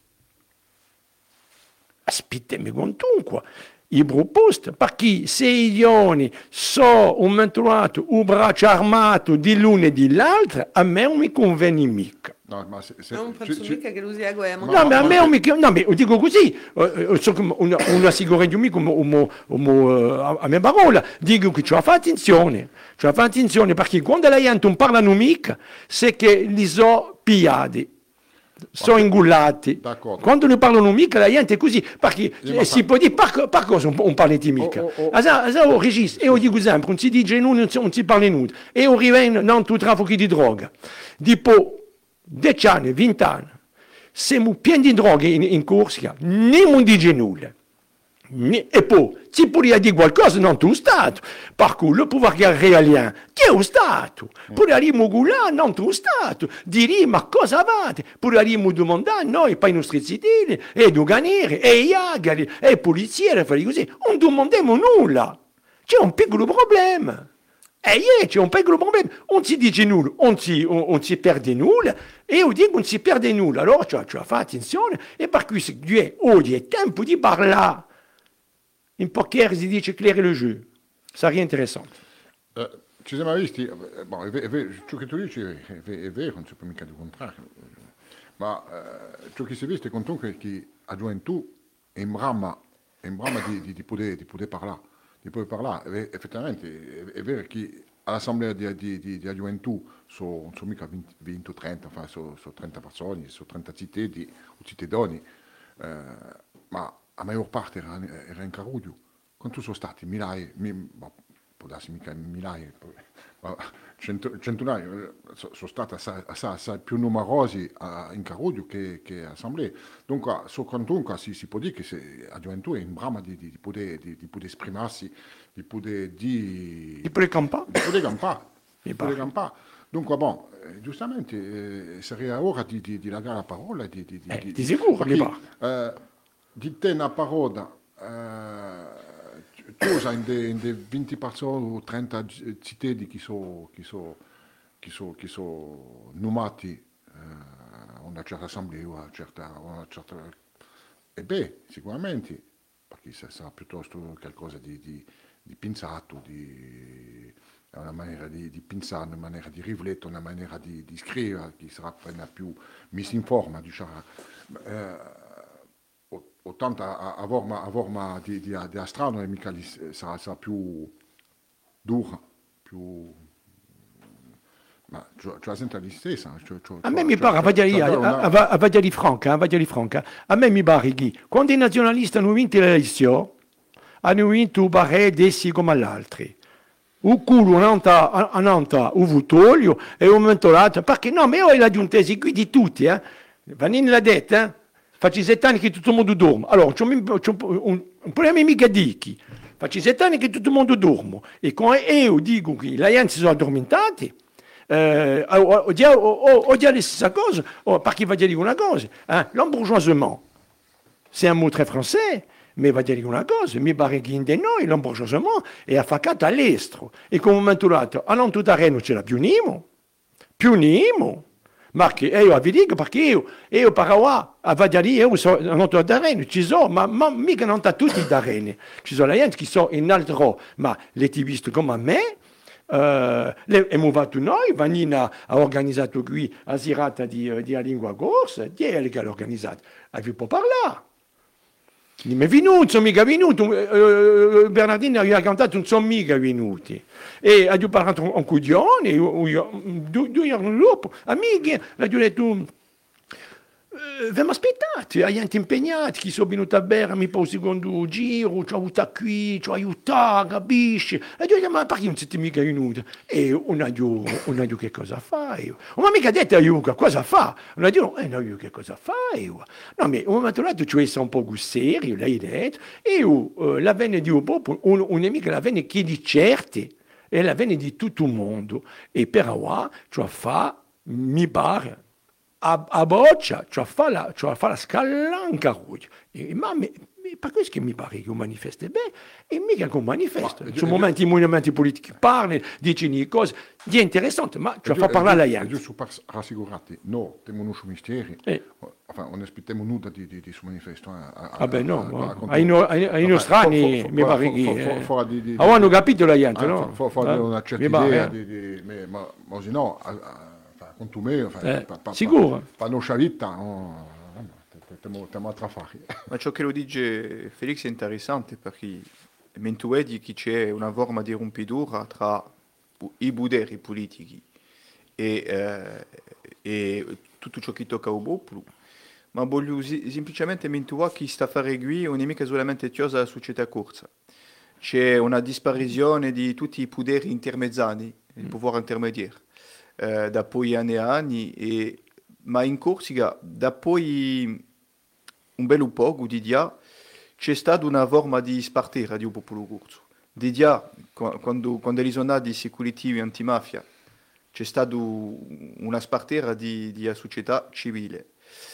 aspettatemi quantunque, i proposte, perché se i idioni sono un trovato un braccio armato di l'uno e dell'altro, a me non mi conviene mica. No, ma se, se, Non penso ci- mica che lui sia guerra. No, ma a me non mi no, ma dico così, eh, so che una, una sicurezza mica come, come, come, a mia parola, dico che ci fa attenzione, ci fa attenzione perché quando la gente non parla mica, c'est che li so pigliati, sono ingullati. D'accordo. Quando ne parlano mica la gente è così, perché Sì, ma eh, si fa- può dire per, per cosa non parli mica. Oh, oh, oh. Asa, asa, oh, regista, io dico sempre, non si dice nulla, non si, non si parla nulla, e io rivengo non tu traffico di droga. Dopo dieci anni, venti anni, siamo pieni di droghe in, in Corsica, non dice nulla. Ni- E poi, si può dire qualcosa, non tu Stato. Per cui, il pouvoir régalien, che è lo Stato? Potremmo gulare, non tu Stato. Dire, ma cosa avete? Potremmo domandare noi, per i nostri cittadini, e doganieri, e iagari, e polizieri, fare così. Non domandiamo nulla. C'è un piccolo problema. E yeah, c'è un piccolo problema, non si dice nulla, non si, on, on si perde nulla, e io dico non si perde nulla, allora cioè, cioè, fa attenzione, e per cui se oggi è tempo di parlare, in poker si dice claire le jeu, sarebbe interessante. eh, ci siamo visti, eh, boh, è, ve- è vero, ciò che tu dici è, è ve- è vero, non si può mica di contrario, ma eh, ciò che si è visto è comunque che a gioventù è in brama, è in brama di, di, di, poter, di poter parlare, di poter parlare. E, effettivamente è, è vero che all'assemblea di, di, di, di gioventù sono so mica venti o trenta, enfin, sono so trenta persone, sono trenta cittadini o cittadini, eh, ma la maggior parte era, era in Carudio. Quanto sono stati? Migliaia, mi, boh, può darsi mica migliaia, ma cento, centinaia, sono so stati assai, assai, assai più numerosi a, in Carudio che, che assemblee. Dunque, so quantunque si, si può dire che se, la gioventù è in brama di, di, di, poter, di, di poter esprimersi, di poter di, Di poter campare. di poter campare. Mi Di poter pare. campare. Dunque, bon, eh, giustamente eh, sarebbe ora di, di, di lagare la parola. Di, di, di, Eh, di, di sicuro, mi perché, eh, di te una parola, eh, chiusa in de, in de venti persone o trenta g- cittadini che sono che so, che so, che so numati eh, a una certa assemblea o a una certa, a una certa... E beh, sicuramente, perché sarà piuttosto qualcosa di, di, di pensato, di, è una maniera di, di pensare, una maniera di riflettere, una maniera di, di scrivere che sarà appena più misinforma, diciamo. Eh, o tanto a, a forma, a forma di, di, di astronomi mica li, sarà, sarà più dura, più... ma cioè, cioè sempre la stessa. Cioè, cioè, A me cioè, mi pare, a cioè, Vadiali, cioè, a, una- a, a Vadiali Franca, a Vadiali Franca, a me mi pare che quando i nazionalisti hanno vinto le elezioni, hanno vinto un barè dessi come all'altri. Un culo nanta, a nanta un vutolio e un momento l'altro, perché no, ma io la giuntesi qui di tutti, eh. Vanini l'ha detto, eh. Faccio sette anni che tutto il mondo dorme. Allora, c'è un, c'è un, un, un problema mica di chi. Faccio sette anni che tutto il mondo dorme. E quando io dico che la gente si sono addormentati, eh, ho, ho, ho, ho, ho già la stessa cosa, oh, perché va dire una cosa, eh. L'embourgeoisement, c'est un mot très français, mais va dire una cosa, mi pare che in de noi l'embourgeoisement è affaccato all'estero. E come momento l'altro, a non tutta Reno ce la piunimo, piunimo. Ma che io vi dico perché io, io paravo a Vadiali, io sono non da Reno, ci sono, ma, ma mica non da tutti da Reno. Ci sono le gente che sono in altro, ma le attivisti come me, eh, le, abbiamo fatto noi, Vanina ha organizzato qui la serata di, di lingua corsa, chi è che l'ha organizzato? Ah, vi può parlare. Non è venuto, sono mica venuti, eh, Bernardino aveva cantato, non sono mica venuti. E ha parlato un coglione, due, due giorni dopo, amici, l'ha detto, eh, abbiamo aspettato, la gente impegnata, chi sono venuti a Bergamo per il secondo giro, ci ho avuto qui, ci ho aiutato, capisci? E ho detto, ma perché non siete mica venuti? E non ha detto che cosa fai? Ma mica detto io che cosa fa? Non ha detto, eh no, io che cosa fai? No, ma un momento lato ci vuoi essere un po' serio, l'hai detto, e io, uh, la venne di un po', un, un'amica la venne che di certe, e la venne di tutto il mondo, e per ora, cioè fa, mi pare, a, a boccia, cioè fa la, cioè fa la scalanca, e, ma me, per questo che mi pare che un manifesto è bene, e mica che un manifesto. Ma, Ci sono momenti, i movimenti politici parli, dicono cose, di interessante, ma cioè fa parlare la gente. Giusto per rassicurarti, no, abbiamo un misteri, Eh. enfin, non aspettiamo nulla di, di, di su manifesto. A, a, Vabbè, no, a- ma a- a- ai, no, ai, ai nostrani fo- fo- mi fo- pare fo- che... fo- eh, fo- di- di- ah, hanno capito la gente, Ah, no? fa- fa- fa Eh, una certa mi pare, idea, eh. di, di, me- ma, ma se no, a- a- enfin, conto me, enfin, Eh, pa- pa- sicuro. pa- pa nostra vita, no, stiamo a fare. Ma ciò che lo dice Felix è interessante perché mentre vedi che c'è una forma di rompitura tra i poderi politici e, eh, e tutto ciò che tocca al popolo, ma voglio si- semplicemente mentre che sta a fare qui non è mica solamente chiosa la società corsa. C'è una disparizione di tutti i poderi intermediari, il pouvoir intermediaire, eh, da poi anni e anni, e, ma in Corsica, da poi un bel po' di dia, c'è stata una forma di spartire di un popolo corso. Di dia, quando, quando ci sono stati i securitivi antimafia, c'è stata una spartera di, di società civile.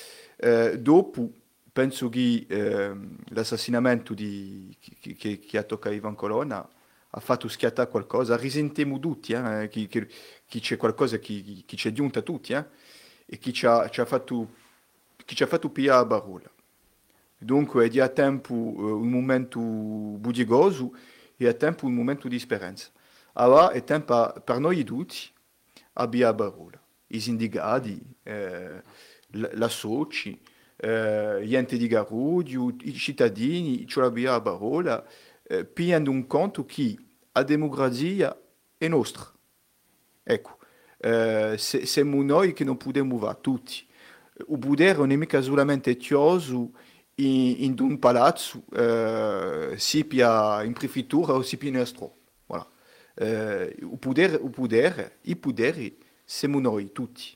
Eh, dopo, penso che eh, l'assassinamento di, che, che, che ha toccato Ivan Colonna ha fatto schiattare qualcosa, risentiamo tutti, eh, che, che, che c'è qualcosa che, che ci è giunta a tutti, eh, e che ci ha, ci ha fatto, che ci ha fatto pigliare a parola. Dunque, è a tempo uh, un momento budigoso e a tempo un momento di speranza. Allora, è tempo per noi tutti abbiamo a parola. I sindicati, eh, la, la soci, eh, gli enti di Garudio, i cittadini, ce l'abbiamo a parola, eh, pigliando un conto che la democrazia è nostra. Ecco, eh, se, siamo noi che non possiamo fare tutti. Il potere non è mica solamente chioso in, in un palazzo, eh, si pia in prefettura o si pia in estro. Voilà. Eh, il potere, il potere, i poteri siamo noi tutti.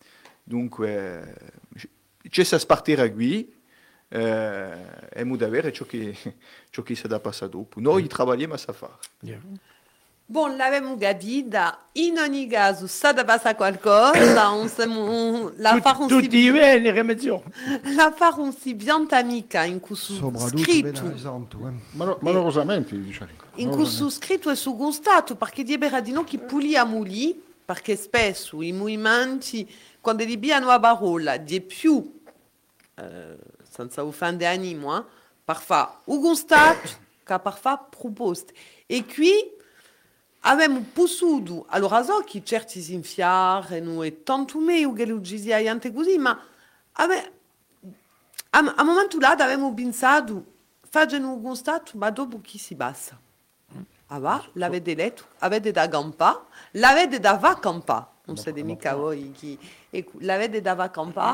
Dunque, c'è da partire qui eh, e dobbiamo avere ciò che, ciò che si da passare dopo. Noi lavoriamo a fare. Yeah. Bon, l'avevamo capita, in ogni caso sta da passare qualcosa, on se, on, la Tut- fare un tutti i bene, rimedio. la fare un si biantamica in questo Soprattutto scritto, ben esatto, eh. Ma, malorosamente, diciamo. in questo scritto e su gustato, perché di Beradino che puliamo lì, perché spesso i movimenti, quando li abbiano a parola, di più, eh, senza offendere animo, eh, per fare un gustato che per fare proposte. E qui, abbiamo potuto, allora so che certi si infiarano e tanto meglio che lo ci sia niente così, ma abbiamo, a, a momento là abbiamo pensato, facendo un constato, ma dopo chi si basta? Ah va, l'avete letto, avete da campare, l'avete da va campare. Non siete mica voi chi... Ecco, l'avete da va campare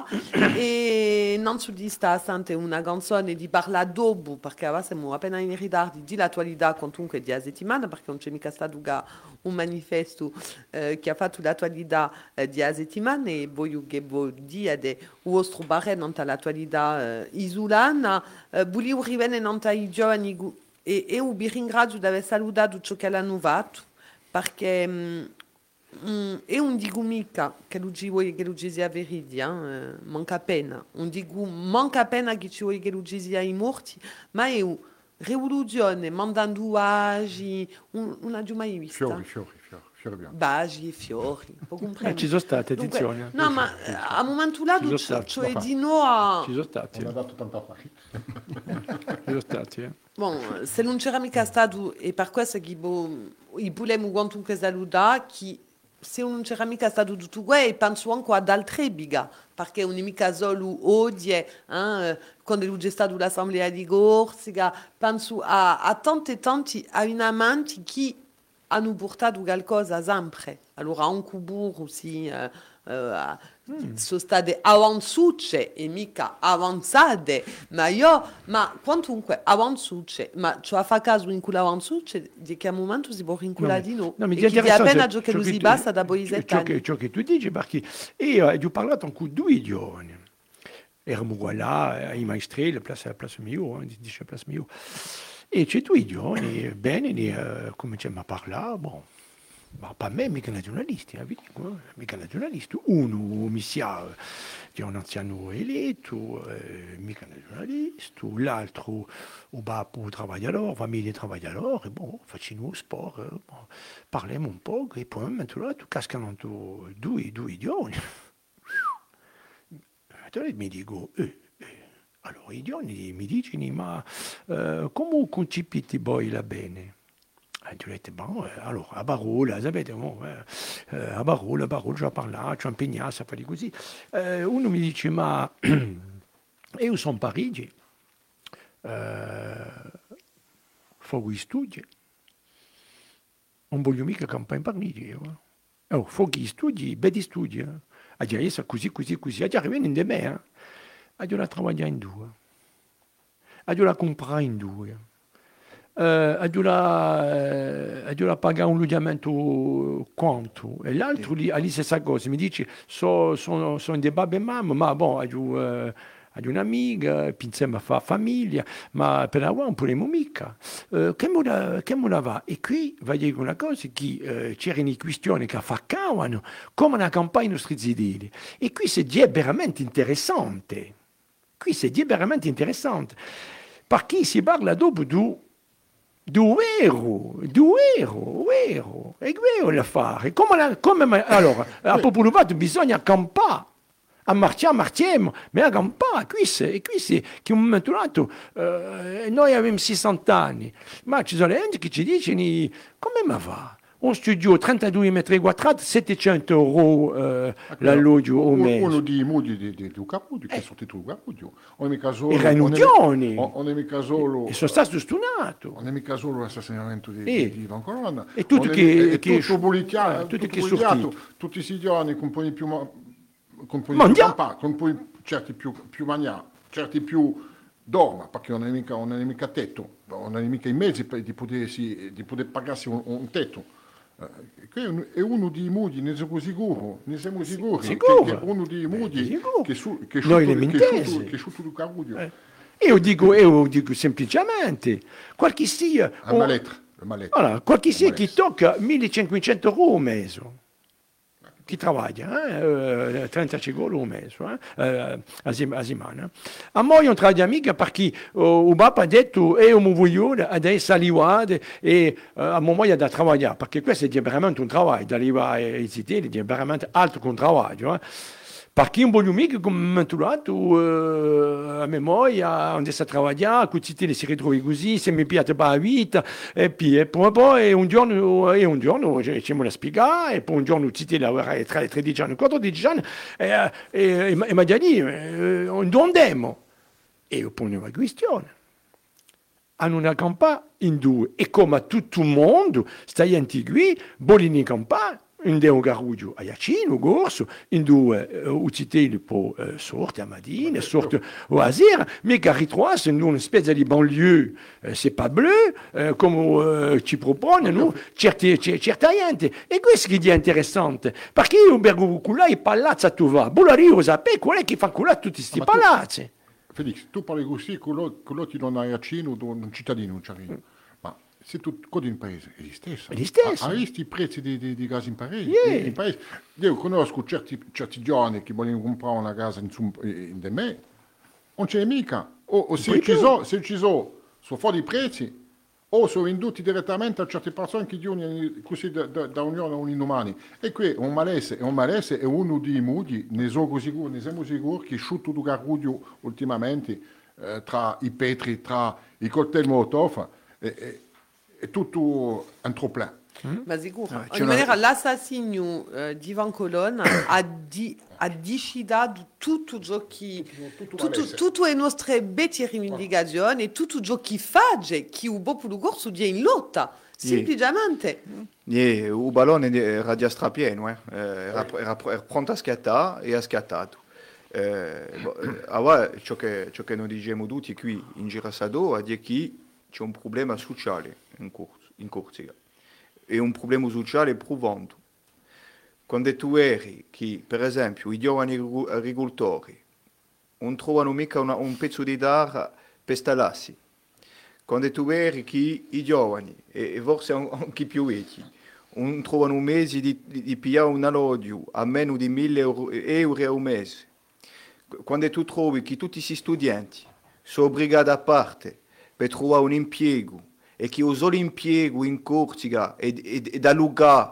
e non soddisfa sempre una canzone di parla dopo, perché ora siamo appena in ritardo di l'attualità comunque di settimana, perché non c'è mica stato un manifesto eh, che ha fatto l'attualità eh, di settimana e voglio che voi diate il vostro parere non l'attualità eh, isolana. Eh, volevo rivenire non ai giovani e io vi ringrazio di aver salutato ciò che l'hanno fatto, perché... Mh, Mm, e non dico mica che lo ci vuoi che lo ci sia verità, eh, manca pena. Non dico manca pena che ci vuoi che lo ci sia i morti, ma è una rivoluzione mandando agi, un, non l'ho mai vista. Fiori, fiori, fiori, fiori bianchi. Bagi e fiori, può Eh, comprendere. ci sono state, Dunque, attenzione. no, ma eh, a un momento là, Ci sono tu- stati, cioè ma di no a... Ci sono stati, Non ha eh. dato tanta fare. Ci sono stati, eh. Bon, se non c'era mica stato, e per questo che bo, i volevamo quantunque salutare, che se non c'era mica stato tutto questo, penso anche ad altre biga, perché non è mica solo oggi, eh, quando c'è stata l'assemblea di Corsica, penso a, a tanti e tanti avinamenti che hanno portato qualcosa sempre. Allora, anche burro, sì, eh, eh, mm. sono state avanzate e mica avanzate, ma io, ma quantunque avanzate, ma ci fa caso in quell'avanzate, di che momento si può rinculare di no? No, mi E che di interessante appena ciò che ciò lo che si tu- basta da poi ciò- sette ciò che, anni. ciò che tu dici, perché io ho parlato con due giovani. Eravamo là, ai maestri, la place, la place mio, dice la place mio. E c'è due giovani, bene, eh, cominciamo a parlare, bon. Ma per me mica nazionalisti, eh, vi dico, eh, mica nazionalisti. Uno mi sa che è un anziano eletto, eh, mica nazionalista, l'altro o babbo travagliatore, famiglia travagliatore, bon, facciamo sport, eh, bon, parliamo un po', e poi maintenant tu cascano due, due giovani. Allora mi dico, eh, eh. Allora i giovani mi dicono, ma eh, come concepite voi la bene? E io ho detto, bon, eh, allora, a Barola, sapete, oh, eh, eh, a Barola, a Barola, ci ho parlato, ci ho impegnato a fare così. Eh, uno mi dice, ma io sono a Parigi, eh, faccio gli studi, non voglio mica campare in Parigi, io. Oh, faccio gli studi, belli studi, eh. A dire, così, così, così, a dire, arrivano in de me, eh. A dire, la lavorare in due, a dire, la comprare in due. Uh, a dover uh, pagare un loggiamento quanto e l'altro lì, lì stessa cosa mi dice sono so, so dei babbe e mamma ma bon ho uh, un'amica insieme a fa famiglia ma per la non possiamo mica uh, che me la, che me la va e qui va dire una cosa che uh, c'erano questioni che affaccavano come una campagna nostri zidili e qui si è veramente interessante qui si è veramente interessante perché si parla dopo di Duero, duero, duero, è vero l'affare. Come, la, come allora, a Popolovato bisogna campare, a marciare, marciamo, ma a campare, qui è, qui è, che un momento dato, eh, noi abbiamo sessanta anni, ma ci sono gente che ci dicono, come ma va? Un studio trentadue metri quadrati, settecento euro eh, l'alloggio o mese. Uno di modi di, di, di Capudio, che è stato tu Capudio. Non è mica solo... Erano unioni. Non è mica solo... E sono stato stunato. Non è mica solo l'assassinamento di, e, di Ivan Colonna. E tutto che... È che tutto bollicchiato, eh, tutto tutto che bollicchiato, tutti i giorni con poi più... Con poi più campà, con poi certi più, più mangià, certi più... dorma, perché non è mica, non è mica tetto, non è mica i mezzi per, di, potersi, di poter pagarsi un, un tetto. Uh, è uno dei modi, ne siamo sicuri, ne siamo sicuri, sicuro. Che, che è uno dei modi che su che noi sciuto, le che sciuto, che sciuto di Carudio. Eh. Io dico, io dico semplicemente, qualche sia... La mallettra, la mallettra. Allora, qualche sia chi tocca millecinquecento euro al mese. Chi lavora, eh? trentacinque euro al mese, eh? a settimana. A me non tra amica perché uh, il papà ha detto io mi voglio adesso arrivare e uh, a me voglio da lavorare, perché questo è veramente un lavoro, da arrivare ai siti è veramente altro che un lavoro. Eh? Perché un buon amico come mi ha trovato eh, a memoria, onde sta lavorando, con tutti si ritrova così, se mi piace per la vita, e poi, e poi, poi un giorno, e un giorno ci me la spiega, e poi un giorno tutti lavorano tra i tredici anni, quattordici anni, e, e, e, e mi ha detto, eh, dove andiamo? E io ponevo la questione. Hanno una campagna in due, e come tutto il mondo, stai qui, bolini campagna, in un garuggio a Iacino, Gorso, in due uh, ucitelli po uh, sorte a Madine, sorte a sera, mais che ritrovasse in una specie di banlieue, uh, c'est pas bleu, uh, come uh, ci propone, no? Certe, certa gente. E questo che è interessante, perché io bergo là i palazzi a tu va, Bolario sapete qual è che fa là tutti questi palazzi? Felix, tu parli così, quello, quello ti non hai accino, un cittadino, un cittadino. Ma se tu codi in paese, è lo stesso. È lo stesso. Ha visto i prezzi di, di, di gas in paese? Yeah. In paese? Io conosco certi, certi giovani che vogliono comprare una casa in, in de me, non c'è mica. O, o se, ci so, se ci sono, sono fuori i prezzi, o sono venduti direttamente a certe persone che dicono così da, da, da unione a un inumani. E qui un malese, un malese è uno dei modi, ne sono sicuro, ne siamo sicuri, che sciutto du garuglio ultimamente, eh, tra i petri, tra i coltelli Molotov, è, è, è tutto un trop-plein. Mm? Ma sicuro. Ah, In maniera, l'assassinio uh, di Ivan Colonna ha, di, ha decidato tutto ciò che tutto, tutto le nostre belle rivendicazioni e tutto ciò che fa che il popolo corso è in lotta, semplicemente. Yeah, il ballone era già strapieno, eh. era, era, era pronto a scattare e ha scattato. Eh, allora, ciò che, ciò che noi diciamo tutti qui in Girasado è che c'è un problema sociale in, Cors- in Corsica. È un problema sociale profondo. Quando tu eri che, per esempio, i giovani agricoltori non trovano mica una, un pezzo di terra per stallarsi, quando tu eri che i giovani, e, e forse anche più vecchi, non trovano mesi di, di, di pigliare un alloggio a meno di mille euro, euro al mese, quando tu trovi che tutti questi studenti sono obbligati a parte per trovare un impiego, e che il solo impiego in Corsica è, è, è da allungare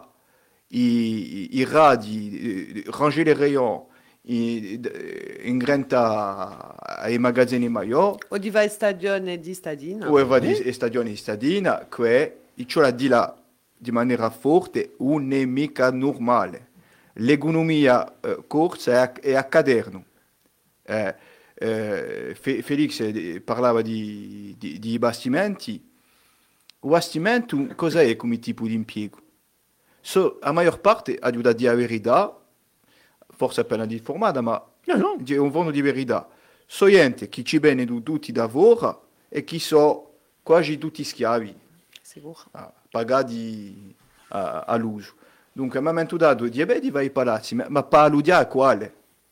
i, i radi, rangere i rayon in, in granta ai magazzini maggiori. O di vai stagione di stadina. O va di stagione di stadina, che ciò la di là di maniera forte, non è mica normale. L'economia eh, corsa è, è a caderno. Eh, eh, Felix parlava di, di, di bastimenti. Il bastimento cosa è come tipo di impiego? So, la maggior parte ha da dire la verità, forse appena informata, ma no, no. È un fondo di verità. So gente che ci bene tutti lavora e che sono quasi tutti schiavi, ah, pagati ah, all'uso. Dunque, mi hanno dato di beh, vai ai palazzi, ma, ma per alludere quale?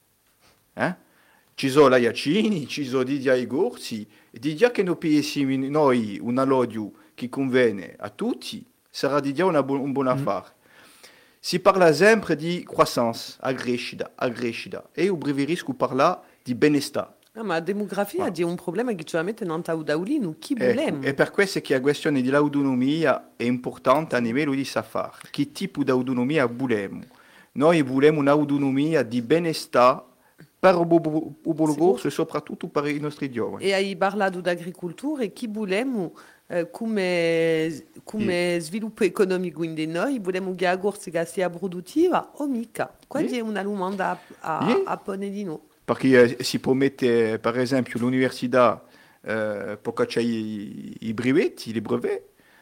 Eh? Ci sono la Iacini, ci sono di ai Gorsi, e di dire che noi pigliamo noi un alloggio che conviene a tutti, sarà di dire una bu- un buon affare. Mm. Si parla sempre di croissance, a crescita, a crescita, e io preferisco parlare di benestare. Ah, ma la demografia ah. è un problema che ci mette in Taudaulino, chi ecco, volemo? E per questo è che la questione dell'autonomia è importante a livello di safar. Che tipo di autonomia volemo? Noi volemo un'autonomia di benestare per il popolo corso e soprattutto per i nostri giovani. E hai parlato di agricoltura e chi volemo eh, come, come sì. sviluppo economico in noi? Volemo che la Corsica sia produttiva o mica? Questa sì. è una domanda a, a, sì. a porre di noi. Perché eh, si promette, per esempio, l'università, eh, perché c'è i, i brevetti, i brevet,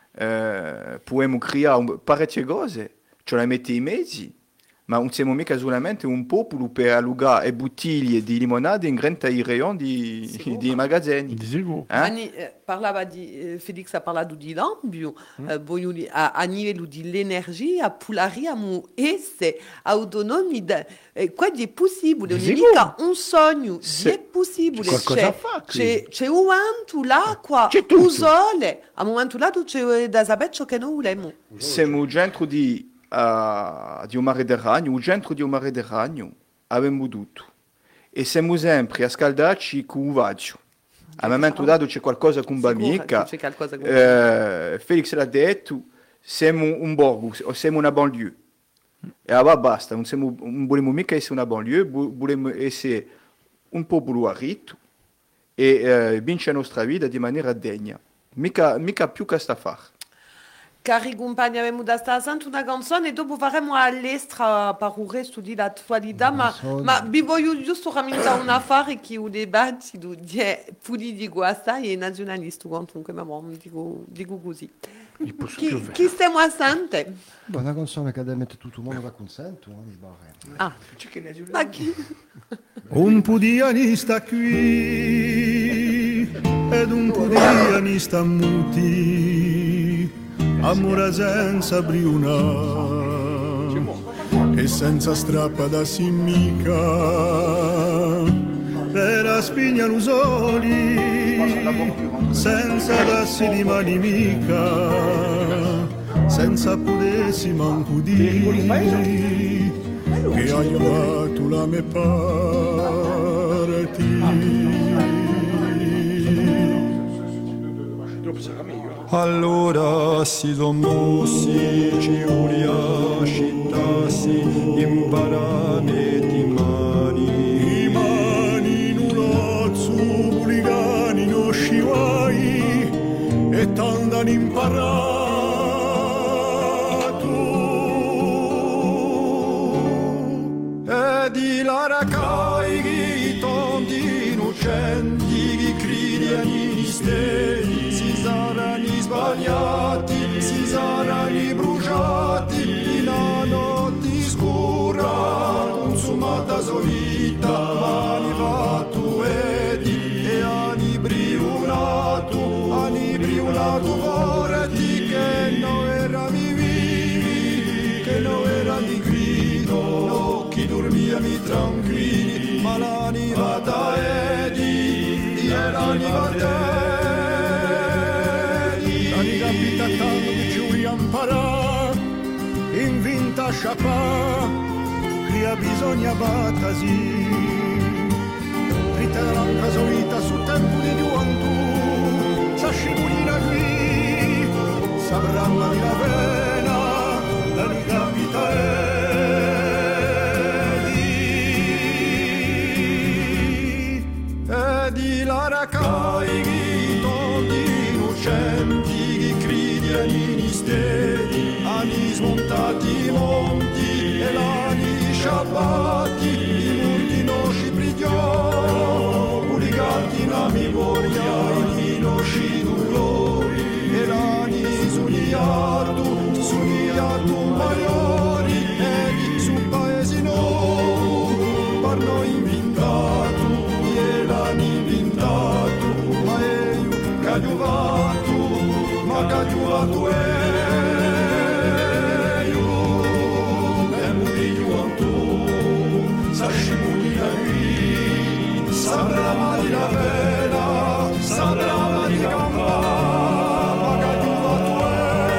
eh, possiamo creare parecchie cose, ce la mette i mezzi, ma non siamo mica solamente un popolo per allungare le bottiglie di limonade in grande i rayon di, di magazzini. Di eh? Ani, eh, parlava di, eh, Felix ha parlato di lambio, mm. eh, a, a livello di l'energia, polariamo essere autonomi. Da, eh, qua è possibile, non è mica un sogno, è possibile. C'è, c'è, c'è un momento l'acqua, il sole, a un momento là c'è da sapere ciò che noi vogliamo. Siamo dentro di... Uh, di un mare del ragno, il centro di un mare del ragno abbiamo tutto e siamo sempre a scaldarci con un vaggio. A un momento dato c'è qualcosa con Bamica, eh, Felix l'ha detto, siamo un borgo, siamo una banlieue. E allora basta, non, siamo, non vogliamo mica essere una banlieue, vogliamo essere un popolo arricchito e eh, vincere la nostra vita di maniera degna. Mica, mica più che sta a fare. Cari compagni, abbiamo da stare sentendo una canzone e dopo faremo all'estera per il resto dell'attualità, ma, ma vi voglio giusto rammentare un affare che il dibattito di politico questa e nazionalista, comunque, ma bon, dico, dico così. Chi, chi stiamo a sentire? Una canzone che deve mettere tutto il mondo da consenso, non sbaglio. Ah, ma chi? Un po' di anni sta qui ed un po' di anni sta muti, amore senza briuna e senza strappa da simmica, per la spigna l'usoli, senza dassi di mani mica, senza pudessi manco di che ha aiutato la mia parti. Allora si son mossi, ci volia scittassi, imparare di mani. I mani nulazzo, buligani, no sciuai, e tandan imparato. E di laracai, i tondi innocenti, i cridi agli misteri, si saranno sbagliati, si saranno bruciati in una notte scura, consumata solita, mani fatto edi e ani briulato, ani briulato vorti che non era mi vivi, che non era di grido, occhi dormiami tranquilli, ma l'anima da edi, e l'anima te. Capita tanto che ci vogliamo imparare, in vinta sciapà, qui ha bisogno battasi, rita l'anca solita sul tempo di gioventù, sa scivolina qui, sapranno di la pena, la mi capita edi, edi la racai, tondi innocenti, agli misteri, anni smontati i monti e l'ani sciappati, i monti non ci prigiò, puligati la memoria, il vino ci dolori, e l'ani suniato, suniato maiori, e sul paese no, per noi inventato, e l'ani inventato, ma è io cagliovato. Magagiuato e io, tempo di gioventù, s'asciuglia qui, sembrava di la vela, sembrava di campare, magagiuato e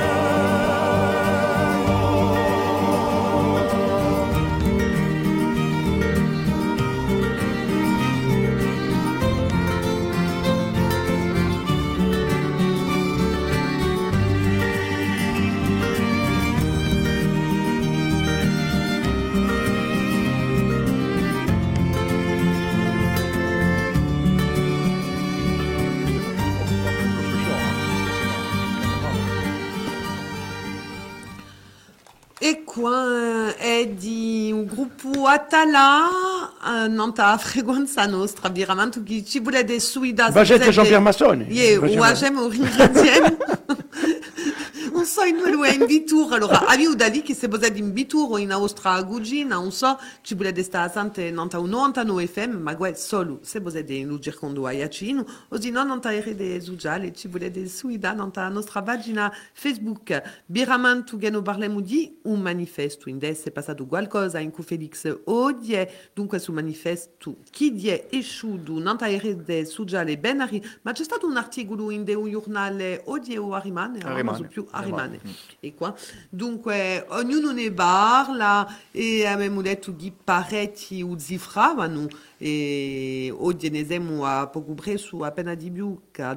E qua è di un gruppo Atala, uh, non ta frequenza nostra, veramente che ci vuole dei suida. Vagette Jean-Pierre Massoni. Yeah, o agem o ringraziem. Un so in quello è in Vitur, allora abbiamo da lì che se posate in Vitur o in Austria Gugina, non so, ci volete stare sante nanta un novantanove F M, ma guarda solo se posate in Lugir Condo a Iacino, o se no nanta R D Zugiale, ci volete suida nanta nostra pagina Facebook. Biraman tu gano parlemo di un manifesto, in è passato qualcosa in cui Felix odie, dunque su manifesto chi di è esciuto nanta R D Zugiale ben arri, ma c'è stato un articolo in de un giornale odie o Arimane, non so più Arimane. Mm. E qua. Dunque, ognuno ne parla e abbiamo detto di parecchi uzzifravano e oggi ne siamo a poco presso appena di più che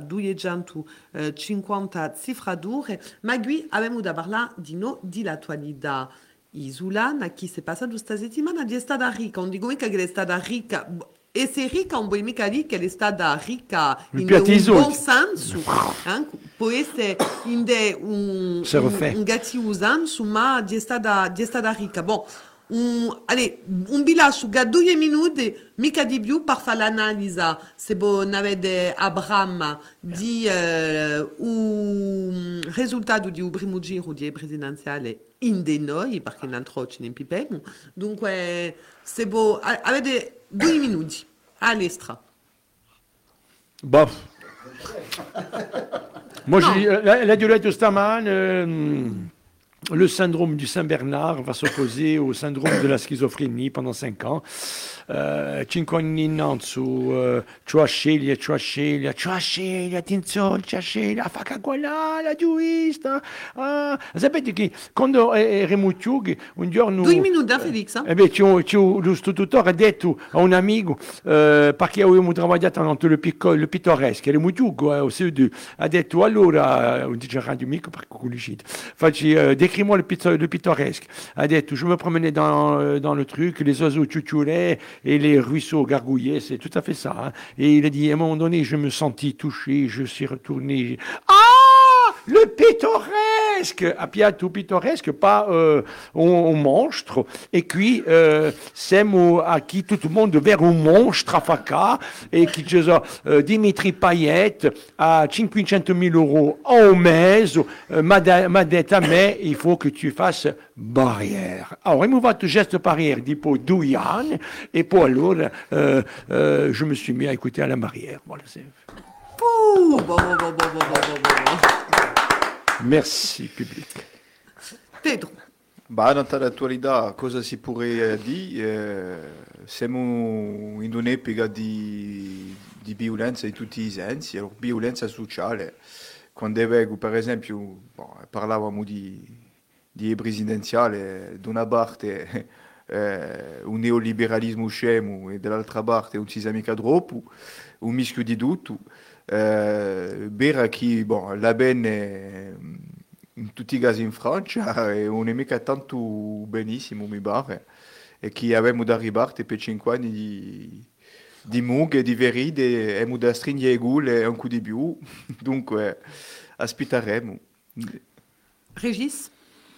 duecentocinquanta cifradure, ma qui abbiamo da parlare di no di l'attualità. Isulana, che si è passato questa settimana, è stata ricca, non dico mica che è stata ricca, e se ricca non vuoi mica dire che è stata ricca Mi in piace un i soldi. buon senso, eh? Può essere in de un, Se un, refait. un cattivo senso, ma è stata, è stata ricca. Bon, un, allez, un bilancio che due minuti, mica di più, per fare l'analisi, se voi avete Abraham di eh, un risultato di un primo giro di presidenziale in de noi, perché in altro ce ne pipemo. Dunque, se voi avete due minuti all'estra. Bof. Moi, Non. j'ai, la, la Diolette Osterman, euh, le syndrome du Saint-Bernard va s'opposer au syndrome de la schizophrénie pendant cinq ans. Uh, cinque anni innanzi, uh, c'ho sceglie, c'ho sceglie, c'ho sceglie, attenzione, c'ho sceglie, fa che quella, la giurista. Ah, sapete che quando eravamo giovani, un giorno... Due minuti, eh, Felix. Eh beh, c'ho, c'ho, lo tutore ha detto a un amico, eh, perché avevamo lavorato nel le picco, le pittoresche, eravamo giù eh, au C E due, ha detto, allora, on dice radio mica perché con l'uscita, facci, euh, décris-moi le, pitto, le pittoresque. Ha detto, je me promenais dans, dans le truc, les oiseaux tchouchoulaient, et les ruisseaux gargouillaient, c'est tout à fait ça. Hein. Et il a dit, à un moment donné, je me sentis touché, je suis retourné. Ah, le pittoresque, a piatto pittoresque, pas euh, un, un monstre. Et puis, euh, siamo a chi tutto il mondo vero un monstre a facà, e chi c'è euh, Dimitri Payet a cinquecentomila euro au mese, euh, m'a detto a me, il faut que tu fasses barrière. Alors, il m'a fait geste barrière, dit pour deux ans, et pour alors, euh, euh, je me suis mis à écouter à la barrière. Voilà, c'est... Pouh, bon, bon, bon, bon, bon, bon, bon, bon. Merci, public. Pedro. Bah, dans l'attualità, cosa si pourrait dire? Eh, siamo in un'epoca di, di violenza di tutti i sensi, allora, violenza sociale. Quando vedo, per esempio, bon, parlavamo di, di presidenziale, da una parte eh, un neoliberalismo scemo e dall'altra parte un si mica troppo, un mischio di tutto. Eh, Vera che bon, la bene in tutti i casi in Francia e non è mica tanto benissimo mi pare e che abbiamo da arrivare per cinque anni di, di mughe, di veride e abbiamo da stringere i gule un po' di più dunque aspetteremo. Régis.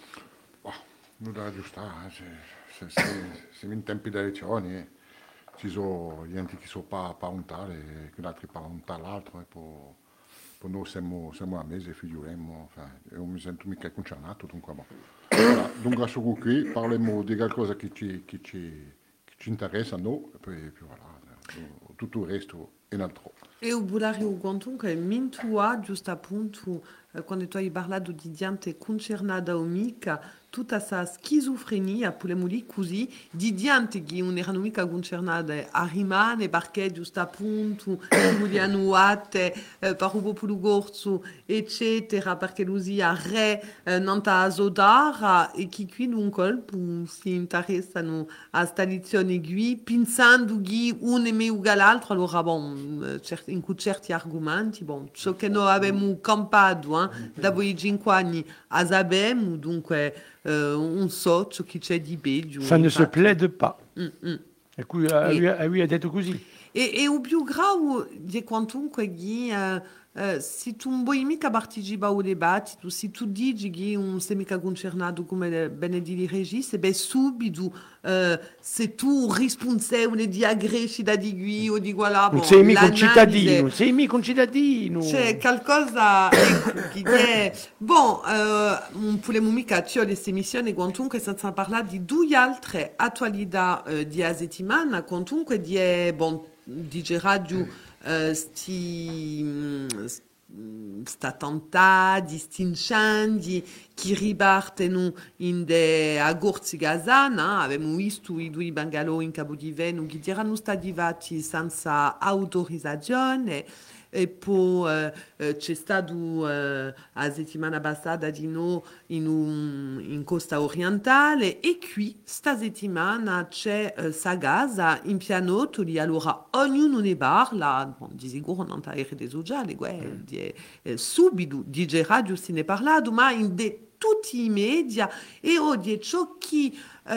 Oh, non da aggiustare, se, se, se, siamo in tempi di elezioni, eh. Ci sono gente che sono pa, pa un tale, che altri pa un tal altro, e poi, poi noi siamo, siamo a mese, figuriamo, io mi sento mica concernato, dunque, bon. Voilà, dunque su qui parliamo di qualcosa che ci, che ci, che ci interessa a noi, e poi, poi voilà, tutto il resto è un altro. E o Bulario Guantunque, mintua, giusto appunto, quando tu hai parlato di gente concernata o mica, tutta questa schizofrenia, possiamo dire così, di gente che non erano mica concernate a rimane perché giusto appunto vogliono ate eh, per un po' più corso, eccetera, perché così a re eh, non ta sodara e che qui un colpo si interessano a sta lezione qui, pensando che uno è meglio che l'altro, allora bon, in certi argomenti, bon, ciò che noi abbiamo campato eh, da voi cinque anni, a sappiamo, dunque euh, on so ciò che c'è di peggio. Ça ne se infatti. plaide pas. Mm, mm. E qui, eh, E- lui, eh, lui ha detto così. E, e o più grave di quantunque che uh, uh, se tu non vuoi mica partecipare al dibattito, se tu dici che non sei mica concernato come bene di Regis, beh subito uh, se tu responsabile di aggressi di qui o di voilà, Non bon, sei mica un l'analisi- cittadino, non sei mica un cittadino. C'è qualcosa ecco, che è... Bon, eh, non possiamo mica c'è queste missioni, quantunque senza parlare di due altre attualità eh, di a settimana, quantunque di, eh, bon, di radio eh, sti... mm, s- mm, sta attentati, sti incendi che ripartono in de agorzi Gazana, abbiamo visto i due bungalow in Cabo di Veno che erano stati fatti senza autorizzazione. E poi eh, eh, c'è stato eh, la settimana passata di nuovo in, un, in costa orientale e qui sta settimana c'è eh, Sagasa in pianotoli, allora ognuno ne parla, bon, di sicuro non ta R D sociale, eh, di, eh, subito di Radio se ne è parlato, ma in de tutti i media e oggi ciò che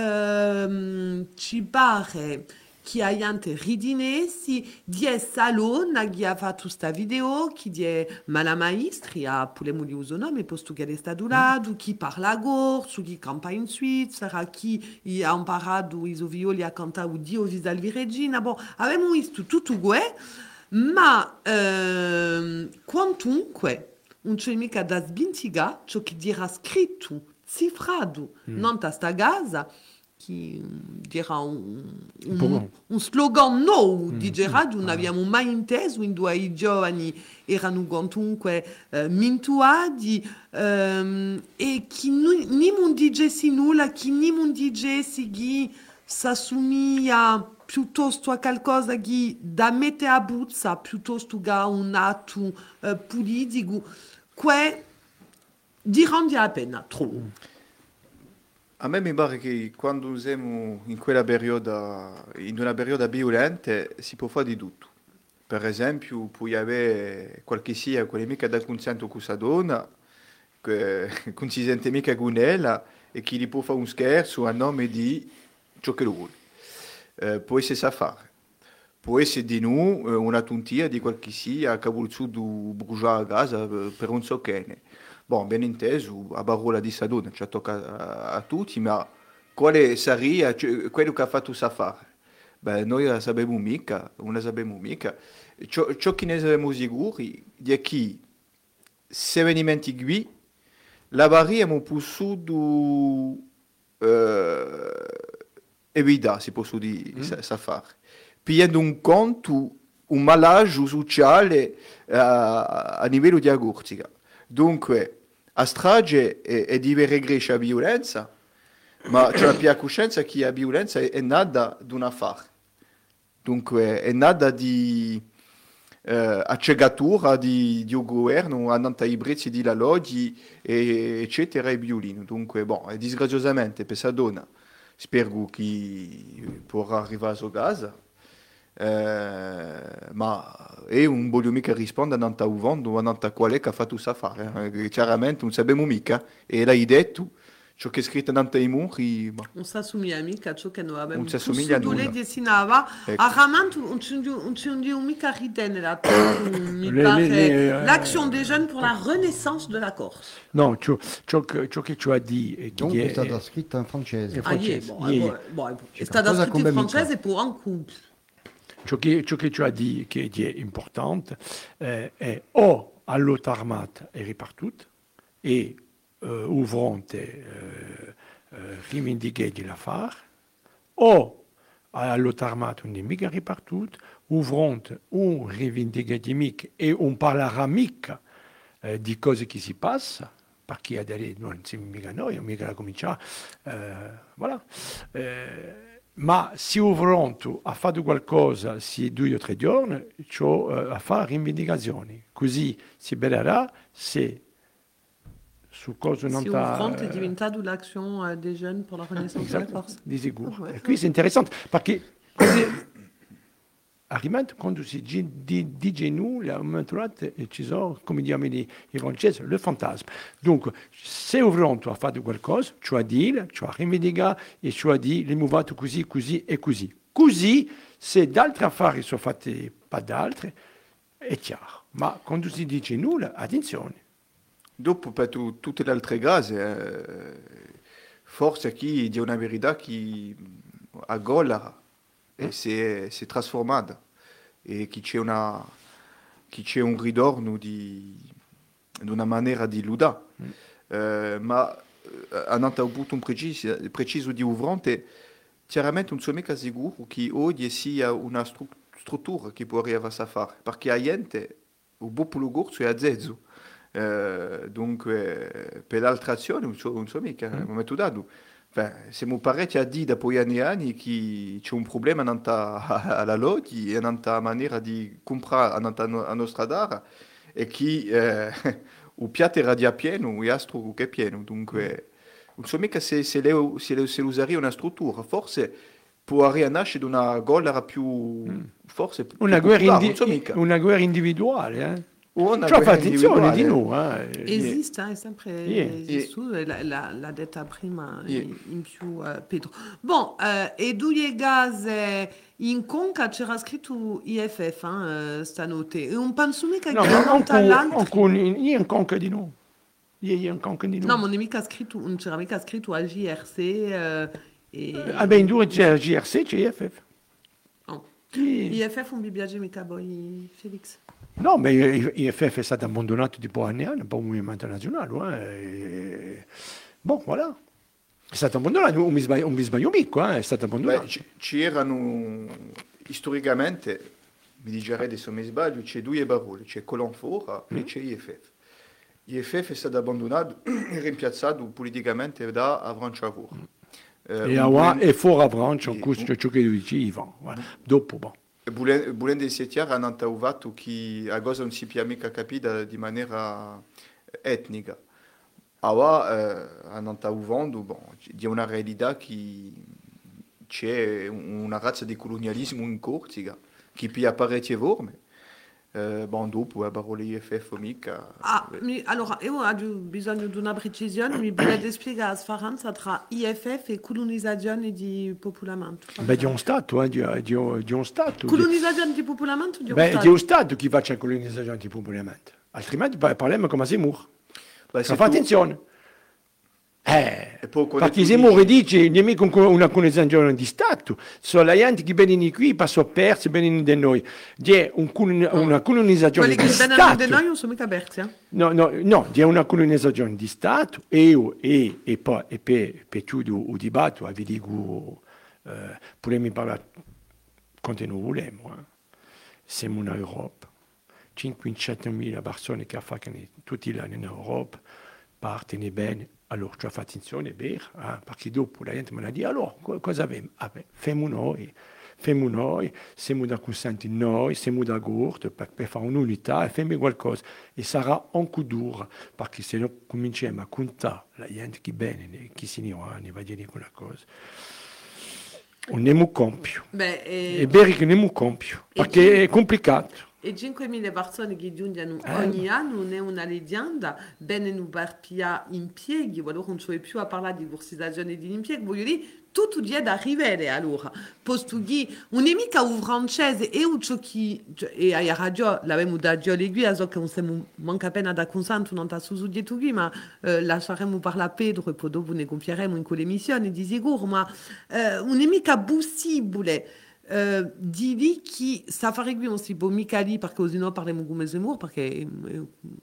ehm, ci pare che aiante ridinesi di salon che ha fatto questa video che di mala maestri a pulemo li uso nome posto che è stato lato chi parla gorso chi campa in Svizzera chi ha imparato i violi a cantare Dio Visalvi Regina bon abbiamo visto tutto questo ma ehm, quantunque non c'è mica da sbintiga ciò che dirà scritto cifrato mm. non a sta casa che dirà un, un, un slogan nuovo mm. di Gerardo non abbiamo mai inteso in due i giovani erano quantunque eh, mintuati ehm, e che non non dicessi nulla che non dicessi che s'assomiglia piuttosto a qualcosa che da mette a buzza piuttosto che a un atto eh, politico che dirà la pena troppo. A me mi pare che quando siamo in quella periodo, in una periodo violenta, si può fare di tutto. Per esempio, puoi avere qualche sia, quelle mica da consento con questa donna, che non si sente mica con ella, e che gli può fare un scherzo a nome di ciò che lo vuole. Eh, può essere sa fare. Può essere di noi una tontia di qualche sia che vuole su bruciare a casa per un so che ne. Bon, ben inteso, a parola di Sadona ci tocca a, a tutti, ma quale sarebbe cioè, quello che ha fatto Safari? Beh, noi la sappiamo mica, non la sappiamo mica. Ciò, ciò che ne siamo sicuri è che se venimenti qui, la barriera è possiamo eh, evitare, si può dire, mm. Safari. Pigliando un conto, un malaggio sociale uh, a livello di agortica. Dunque, a strage è, è di regresce a violenza, ma c'è la più coscienza che la violenza è, è nata da un affare. Dunque, è nata di eh, accegatura di, di un governo, andando ai prezzi di la loggia, eccetera, e violino. Dunque, bon, e disgraziosamente, per questa donna, spero che potrà arrivare a sua casa. Eh, ma è un voglio mica rispondere a un vando o a qual è che ha fatto questo affare eh? Chiaramente non sappiamo mica e l'hai detto ciò che è scritto nei muri ma... non si assomiglia mica a ciò che noi abbiamo non si assomiglia a nulla dessinava ecco. A Ramanto non ci andiamo mica a ridere mi pare l'action des jeunes pour la renaissance de la Corse no ciò, ciò, ciò che ci ha detto è donc è stata scritta in francese ah, yeah, bon, yeah. Bon, bon, è stata scritta in francese per un couple. Ciò che, ciò che tu hai detto che è importante eh, è o all'auto armata è ripartuta e eh, il fronte eh, eh, rivendica di l'affare o all'auto armata non è mica ripartuta, il fronte un rivendica di mica e un parlerà mica eh, di cose che si passano perché adesso non siamo mica noi, mica la cominciare eh, voilà. Eh, ma se il fronte ha fatto qualcosa se due o tre giorni, ciò uh, a fare rivendicazioni. Così si vedrà se su cosa non sta... Se il fronte è diventato l'azione dei giovani per la renaissance della Corse. Di sicuro. Oh, e qui è interessante perché arrivando quando si dice nous, là, ci sono, come diciamo i francesi, le fantasma. Dunque, se il fronte ha fatto qualcosa, cioè dire, cioè rivendicare, e cioè dire, le muovato così, così e così. Così, se d'altri affari sono fatti per d'altri, è chiaro. Ma quando si dice nulla, attenzione. Dopo, per tu, tutte le altre cose, eh, forse qui c'è una verità che a Gola e si è, si è trasformata e che c'è, una, che c'è un ritorno di, di una maniera di ludare. Mm. Eh, ma andando a un punto preciso, preciso di un fronte, chiaramente non sono mica sicuro che oggi sia una stru- struttura che può arrivare a fare, perché la gente, il popolo corso è a zezzo. Eh, dunque, per l'altra azione non so, non so mica, mm. non metto dato. Enfin, siamo parecchi a dire dopo anni e anni che c'è un problema alla loggia e nella maniera di comprare la nostra dara e che eh, il piatto era già pieno, il astro che è pieno. Dunque, non so mica se, se, le, se, le, se usaria una struttura, forse può nascere una gola più, forse più una, guerra indi- non so mica. una guerra individuale, eh? Una Ci fa quella attenzione di individuale. noi. Eh. Esiste, è sempre Yeah. esiste, la, la, l'ha detta prima Yeah. in, in più eh, Pedro. Bon, eh, e due case in conca c'era scritto I F F, eh, stanotte, e un penso mica No, che ma non tra l'altro. ancora, io in conca di noi. Io in conca di noi. No, ma non è mica scritto, non c'era mica scritto al J R C. Eh, e... Ah, beh, in due c'è il G R C, c'è I F F. Oh. Sì. I F F non mi piace mica poi, Felix. No, ma I F F è stato abbandonato tipo anni anni, per un movimento nazionale. Eh. E... Bon, voilà. È stato abbandonato, non mi sbaglio, non mi sbaglio mica, eh. È stato abbandonato. Beh, ci, ci erano, storicamente, mi digerei adesso mi sbaglio, c'è due parole, c'è Colanfora Mm. e c'è I F F. I F F è stato abbandonato e rimpiazzato politicamente da Avranchavur. Eh, E un ora bulen- è fuori a Francia, e- questo è ciò che dice Ivan. Voilà. Dopo, bon. Bulen, Bulen dei Setiar hanno trovato che a cosa non si può mica capire di maniera etnica. Ora eh, hanno trovato bon, di una realtà che c'è una razza di colonialismo in Corsica che può apparire forme. Eh, bon, dopo, a parole I F F mica. Ah, mi, allora, io ho bisogno di una precisione, mi volete spiegare la differenza tra I F F e colonizzazione di popolamento? Beh, di un Stato, eh, di, di, di un Stato. Di, Colonizzazione di popolamento o di un beh, Stato? di un Stato che faccia colonizzazione di popolamento. Altrimenti pa- parliamo come Zemmour. Beh, Fa se tu- attenzione. Eh, E poi quando perché tu Zemmour dici- dice nemico una colonizzazione di Stato. Sono la gente che vengono qui, passano persi, vengono da noi. C'è un colon- una colonizzazione Quelli di che vengono da Stato. noi non sono mica aperti, eh? No, no, no, c'è una colonizzazione di Stato e, e, e poi e per, per tutto il dibattito, vi dico, eh, potremmo parlare quanto noi vogliamo. Eh. Siamo in Europa, cinquecentomila persone che fanno tutti gli anni in Europa, partono bene, allora ci fa attenzione, è vero, eh, perché dopo la gente me la dice, allora co- cosa abbiamo? Ah, beh, facciamo noi. Facciamo noi, siamo da consenti noi, siamo d'accordo per, per fare un'unità e facciamo qualcosa. E sarà anche dura, perché se noi cominciamo a contare la gente che bene, chi si ne va, ne va a dire quella cosa. Non ne compio. Beh, È e, vero che non compio, perché è complicato. e cinquemila persone che giungono Eh. ogni anno non è una leggenda, bene non per pia impieghi, o allora non c'è più a parlare di borsizazione di impieghi, voglio dire, tutto è da arrivare allora. Posto che non è mica un francese e un ciò che, e a radio l'abbiamo da Dio l'aiguille, so che non siamo manca appena da consento, non sta su dietro qui, ma eh, lasceremo parlare a Pedro e poi dopo ne confieremo in quell'emissione di sicuro, ma eh, non è mica possibile. Uh, di lì che Safari qui non si può mica lì perché sennò parliamo come Zemmour perché è, è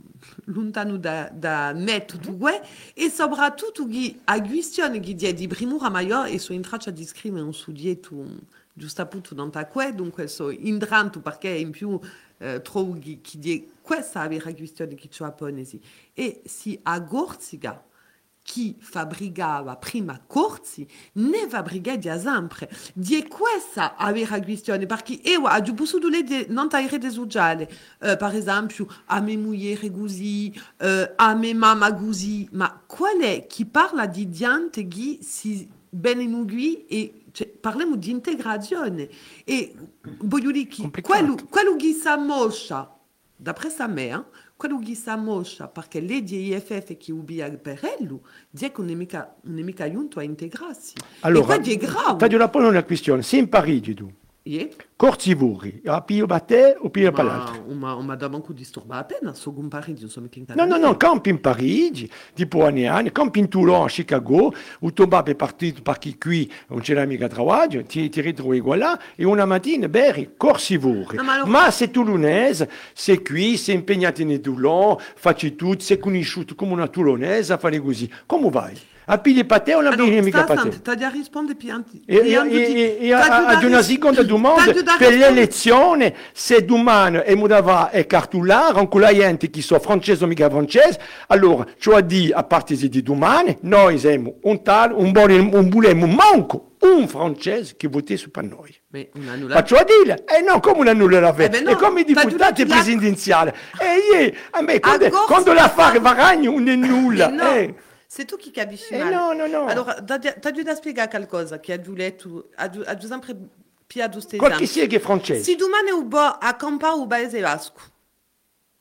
lontano da, da me tutto questo e soprattutto che a questione che di primura maggiore e so in traccia di scrivere su dietro giusto appunto non ta questo dunque so indranto perché in più uh, trovo che, che di questa è la questione che c'è a Ponesi e si a Corsica chi fabbricava prima corsi ne fabbrica sempre. Di questa aveva la questione, perché io ho potuto leggere non rete sociale, uh, per esempio, a mia moglie così, uh, a mia mamma così, ma qual è chi parla di gente che si bene qui e cioè, parliamo di integrazione e voglio dire che Complicato. quello, quello che si ammoscia, d'après sa mère, quello che si ammoscia perché lei di I F F che ubbia per ello, dice che non è mica, non è mica giunto a integrarsi. Allora, e questo è grave. taglio la pone una questione, se in Parigi tu, Yeah. Corsivuri, a più da te o più per l'altro? Ma un madame manco disturba appena, so con Parigi, non so mica in No, no, no, campi in Parigi, tipo anni e anni, campi in Toulon, a Chicago, où tu vas per partito perché qui non c'è mica travaglio, ti, ti ritrovi qua là, e una mattina, beh, Corsivuri. No, ma allora- Ma sei toulonese, sei qui, sei impegnato in Toulon, facci tutto, sei conosciuto come una toulonese, a fare così. Come vai? A pigliare per te o non pigliare mica per te? Sta a rispondere pianti. E, e, e, e a- ad una seconda domanda, per l'elezione, se domani e Modava è cartolare, anche la gente che so francese o mica francese, allora, cioè di a partire di domani, noi siamo un tal, un buon, un volemo manco un francese che voti su per noi. Mais on annule. Faccio a dire, eh no, come una nulla la Eh beh, no, e come i t'as deputati giurato la- presidenziali. E io, a me, quando, Corsica- quando l'affare va ragno, non è nulla. No, eh. c'est tu qui capisci Eh male. no, no, no. Allora, tu as dû spiegare qualcosa che ha giù letto, ha giù ha giù sempre più a giusto Qualche sia che è francese. Si domani u bo a campa u paese vasco.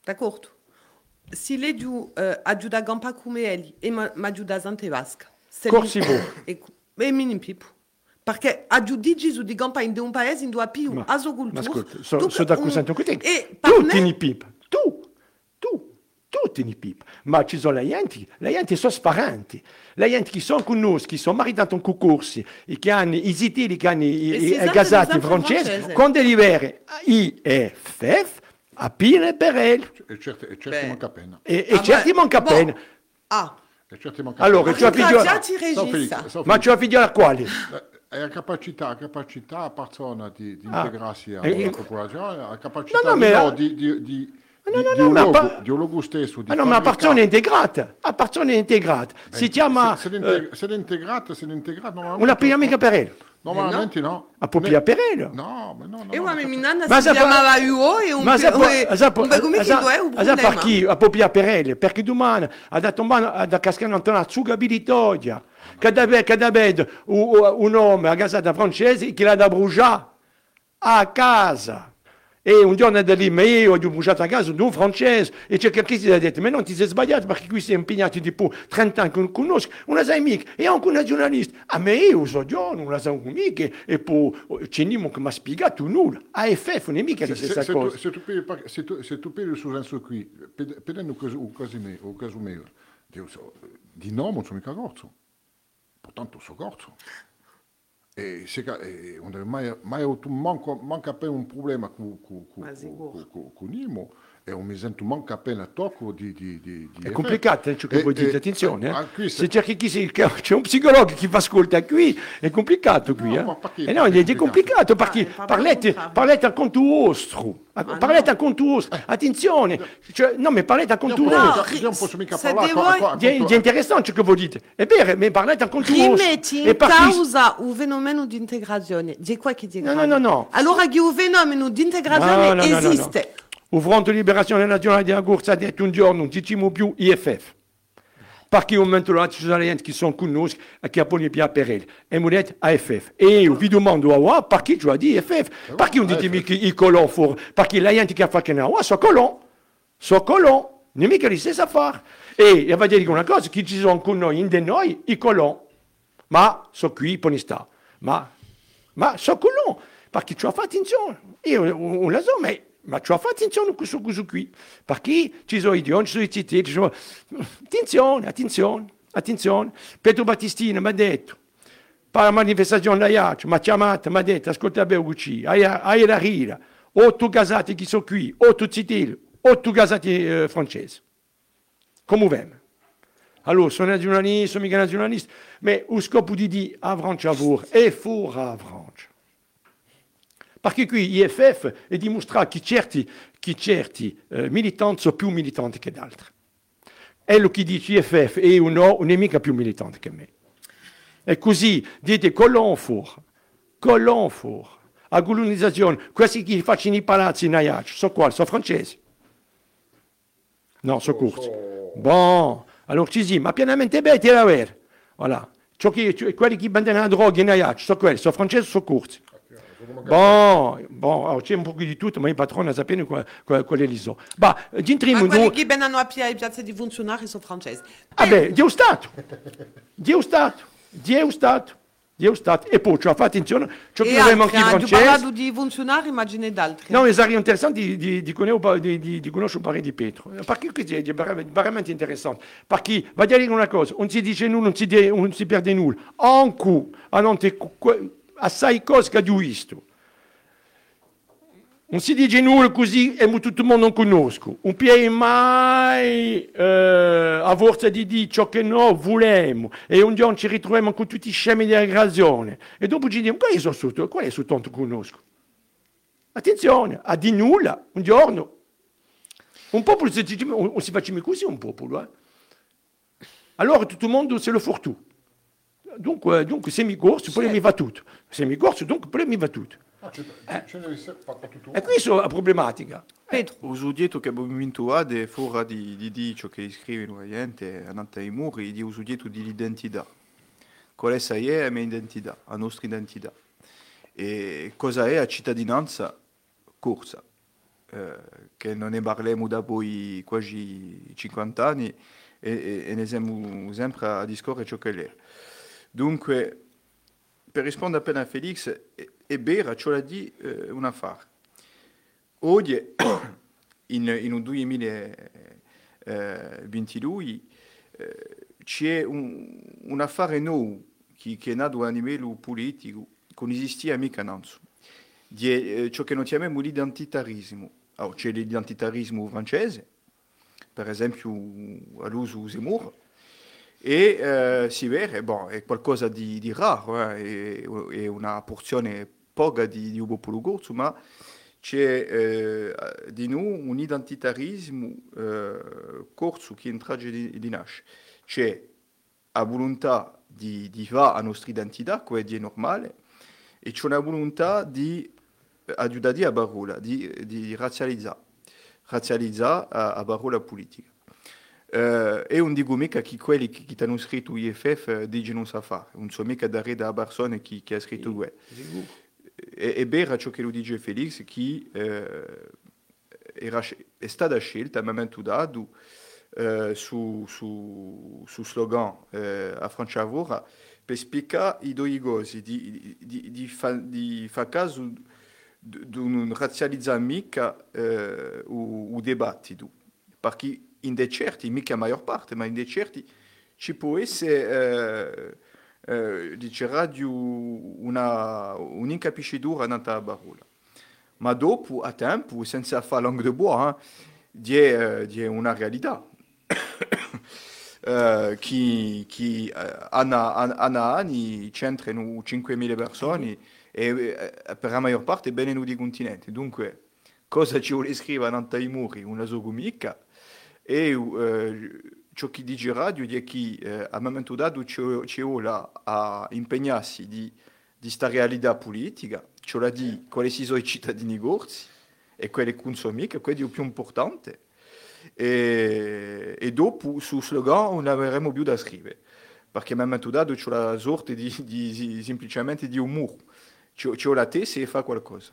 d'accordo? Se lei giù eh, aiuta a gampa come Eli e mi aiuta a Vasca. Corsi voi. E, e mini pipo. Perché aggiudici su di gampa in un paese in due più Ma, a sua cultura. ma ascolta, so, Tu- so d'accordo con te. E Tu per me- tieni pip, tu, tu, tu tieni pip. Ma ci sono le gente, le gente sono sparanti. Le gente che sono con noi, che sono maritati in concorsi, e che hanno i zitili, che hanno i, E i, si i esatto, gasati esatto, francesi, francese. con delibere I F F, a pile per elle. E certi, e certi Beh. manca appena. E, e Ah, certi beh, manca boh. appena. Ah, E certi manca Allora, appena. tu hai figlio- ringraziati Sau regista. Felix, sau Ma Felix. tu hai figlio a quali? È la capacità, la capacità a persona di, di Ah. integrarsi E- alla e- popolazione, la capacità No, no, di, ma- no, di, di, di, No, no, di- no, di no, un ma logo, pa- di un logo stesso, di Ah no, ma la fabbricare- persona è integrata. La persona è integrata. Si chiama Se, se, eh, l'integ- se l'integrata, se l'integrata, normalmente... una piramide per elle. Normalmente no. A Popia per elle. No, ma no, no. E no, una ma- meminana Ma si sa- chiamava U O e un Ma sa, e- sa, un bel come che due è un sa problema. per chi? A Popia per elle. Perché domani ha dato mano a cascare una zugabilità. Che deve, che deve un, un uomo a casata francese che l'ha da bruciare a casa. E un giorno da lì, ma io ho bruciato a casa di un francese e c'è chi si è detto, ma non ti sei sbagliato perché qui si è impegnato di più trenta anni, con conosco una sua amica e anche una giornalista. Ah, ma io so già, una sua amica e poi c'è niente che mi ha spiegato nulla. A F F non è mica la Se, stessa se, cosa. tu, se, tu pigli, par- se, tu, se tu pigli il senso qui, per- prendendo un caso, un caso mio, un caso mio, Dio so, di no, non sono mica corso. Portanto so corso. E se ca- e non deve mai, mai avuto manco, manca appena un problema con, con, con, Ma sicuro. con, con, con Imo e non mi sento manca appena tocco di... di, di, di È complicato, eh, ciò che E- vuoi dire, e- attenzione. eh. ah, qui Se se- c'è, chi si, c'è un psicologo che fa ascolta qui, è complicato qui. No, eh. ma perché- Eh no, è, è complicato perché Ah, è parlate, proprio parlate a conto vostro. Parlate a conto vostro. Attenzione, cioè, no, ma parlate a conto Io No, vostro. non- io non posso mica se parlare... devo- qua- qua- È, qua- è interessante ciò che voi dite. È vero, ma parlate a conto vostro. Rimetti E in perché- causa un fenomeno di integrazione. Di qua che di No, no, no, no. Allora che un fenomeno di integrazione No, no, no, no, no. esiste. Il Fronte di Liberazione Nazionale della Corsa ha detto un giorno, non diciamo più I F F. Perché un momento là ci sono gente che sono con noi e che vogliono più per elle. E mi detto A F F. E io vi domando a voi, perché tu hai dit I F F? Perché non ditemi che i colons fuori? Perché la gente che fa che no, sono colons. Sono colons. Non è mica la stessa affare. E io vi dire una cosa, che ci sono con noi, in de noi, i colons. Ma sono qui, per sta. Ma, ma sono colons. Perché ci ho fatto attenzione. Io non la so, ma... Ma ci ho fatto attenzione a questo cosa qui, perché ci sono i idioti, ci sono i cittadini, ci sono... Attenzione, attenzione, attenzione. Pietro Battistini mi ha detto, per la manifestazione da Iaccio, mi ha chiamato, mi ha detto, ascolta bene qui, hai, hai la rira, otto casati che sono qui, otto cittadini, otto casati eh, francesi. Come vediamo? Allora, sono nazionalista, sono mica nazionalista, ma lo scopo di dire a Francia è fuori a Francia. Perché qui I F F è dimostrato che certi, che certi eh, militanti sono più militanti che altri. E lo che dice I F F è un no, non è mica più militante che me. E così dite colon fuori, colon fuori, a colonizzazione, questi che facciano i palazzi in Ajaccio, sono quali? Sono francesi? No, sono curti. Bon, allora ci si, ma pienamente bene, ti la vera. Voilà. Ciò che, cioè, quelli che vendono la droga in Ajaccio, sono quelli, sono francesi, sono curti. Bon, bon, alors c'è un po' di tutto, ma i patroni sappiano qual, qual, qual è l'iso. Ma, Ma entriamo in quelli due... che vengono a piedi piazza di funzionari sono francesi. Ah beh, Dio Stato, Dio Stato, Dio Stato, Dio Stato. E poi, cioè, fate attenzione, ciò che E avremo altri, anche i hanno francesi... parlato di funzionari, immagine d'altri. No, sarebbe interessante di, di, di, conoscere, di, di, di conoscere un parere di Pietro, perché questo è veramente interessante, perché, va a dire una cosa, non si dice nulla, non si, de, non si perde nulla, anche a non te, assai cose che ho visto. Non si dice nulla così e tutto il mondo non conosco. Un piede mai eh, a forza di dire ciò che noi vogliamo e un giorno ci ritroviamo con tutti i scemi di aggregazione e dopo ci dicono quali sono sotto, quali sono tanto conosco. Attenzione, a di nulla, un giorno. Un popolo, si, non si facciamo così un popolo. Eh? Allora tutto il mondo se lo fortù. Dunque, dunque se mi corso, poi mi va tutto. Se mi corso, dunque poi mi va tutto. Ah, ce, ce, ce ne deve essere fatto tutto. E questa è la problematica. Pedro. Ho detto che abbiamo vinto a de fuori di, di, di ciò che scrivono la gente, andate ai muri, di ho detto di l'identità. Qual è la mia identità, la nostra identità. E cosa è la cittadinanza corsa? eh, che non ne parliamo da poi quasi cinquanta anni e, e, e ne siamo sempre a discorrere ciò che è. Dunque, per rispondere appena a Felix, è, è vero, ce l'ha di eh, un affare. Oggi, in, in un duemilaventidue, eh, c'è un, un affare nuovo che, che è nato a livello politico, che non esistia mica innanzi, di eh, ciò che noi chiamiamo l'identitarismo. Allora, c'è l'identitarismo francese, per esempio all'uso Zemmour, e eh, si vede, bon, è qualcosa di, di raro, eh, è, è una porzione poca di, di un popolo corso, ma c'è eh, di noi un identitarismo eh, corso che in tragedia di nasce. C'è la volontà di, di fare la nostra identità, che è normale, e c'è una volontà di aiutare a parola, di, di razzializzare, razzializzare a, a parola politica. Uh, e non dico mica che quelli che, che hanno scritto I F F dicono sa fare, non so mica da da persone che, che ha scritto quello. È, è vero ciò che lo dice Felix, che uh, era, è stata scelta a momento dato uh, su, su, su slogan uh, a Franciavora per spiegare i due cose, di, di, di, fa, di fare caso di non razzializzare mica uh, il dibattito, perché in dei certi, mica la maggior parte, ma in dei certi ci può essere, eh, eh, dice una un'incapiscitura nella parola. Ma dopo, a tempo, senza fare langue de bois, eh, di una realtà eh, che, che hanno anni c'entrano cinquemila persone e eh, per la maggior parte vengono di continenti. Dunque, cosa ci vuole scrivere nella muri? Una zogumica. E eh, ciò che dice radio è che eh, a momento dato c'è ora a impegnarsi di questa realtà politica, cioè di quali sono i cittadini gorsi e quelli che consumiamo, che è il più importante. E, e dopo, sul slogan, non avremo più da scrivere, perché a momento dato c'è la sorte di, di, di, semplicemente di umore, c'è, c'è la testa e fa qualcosa.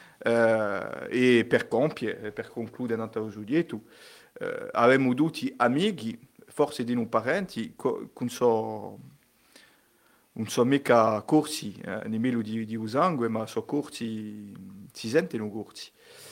Uh, e per compiere, per concludere il nostro dietro, Uh, avevamo tutti amici, forse di noi parenti, che non so, non so mica corsi eh, a livello di, di sangue, ma sono corsi, si sentono corsi.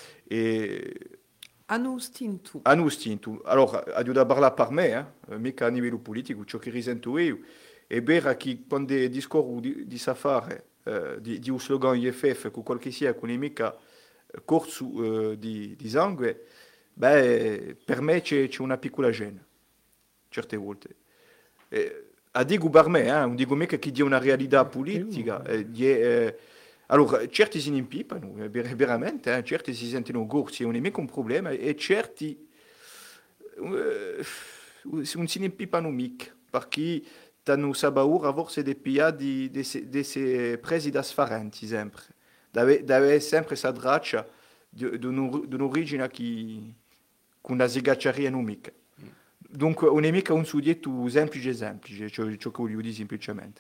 E hanno istinto. Hanno istinto. Allora, aiuta a parlare per me, eh, mica a livello politico, ciò che risento io, è vero che quando discorro di, di safare, eh, di, di un slogan I F F, con qualche sia, con mica corso eh, di, di sangue, beh, per me c'è, c'è una piccola gêne, certe volte. Eh, a dico per me, eh, non dico mica che dia una realtà politica. Eh, di, eh, allora, certi si impipano, eh, veramente, eh, certi si sentono gorsi, non è mica un problema, e certi eh, non si impipano mica, perché hanno sabaura forse di piedi di essere presi da sfarenti, sempre. Deve, deve sempre questa traccia di, di, un, di un'origine che con la sigacciaria non mica. Dunque, non è mica un soggetto semplice semplice, ciò, ciò che voglio dire semplicemente.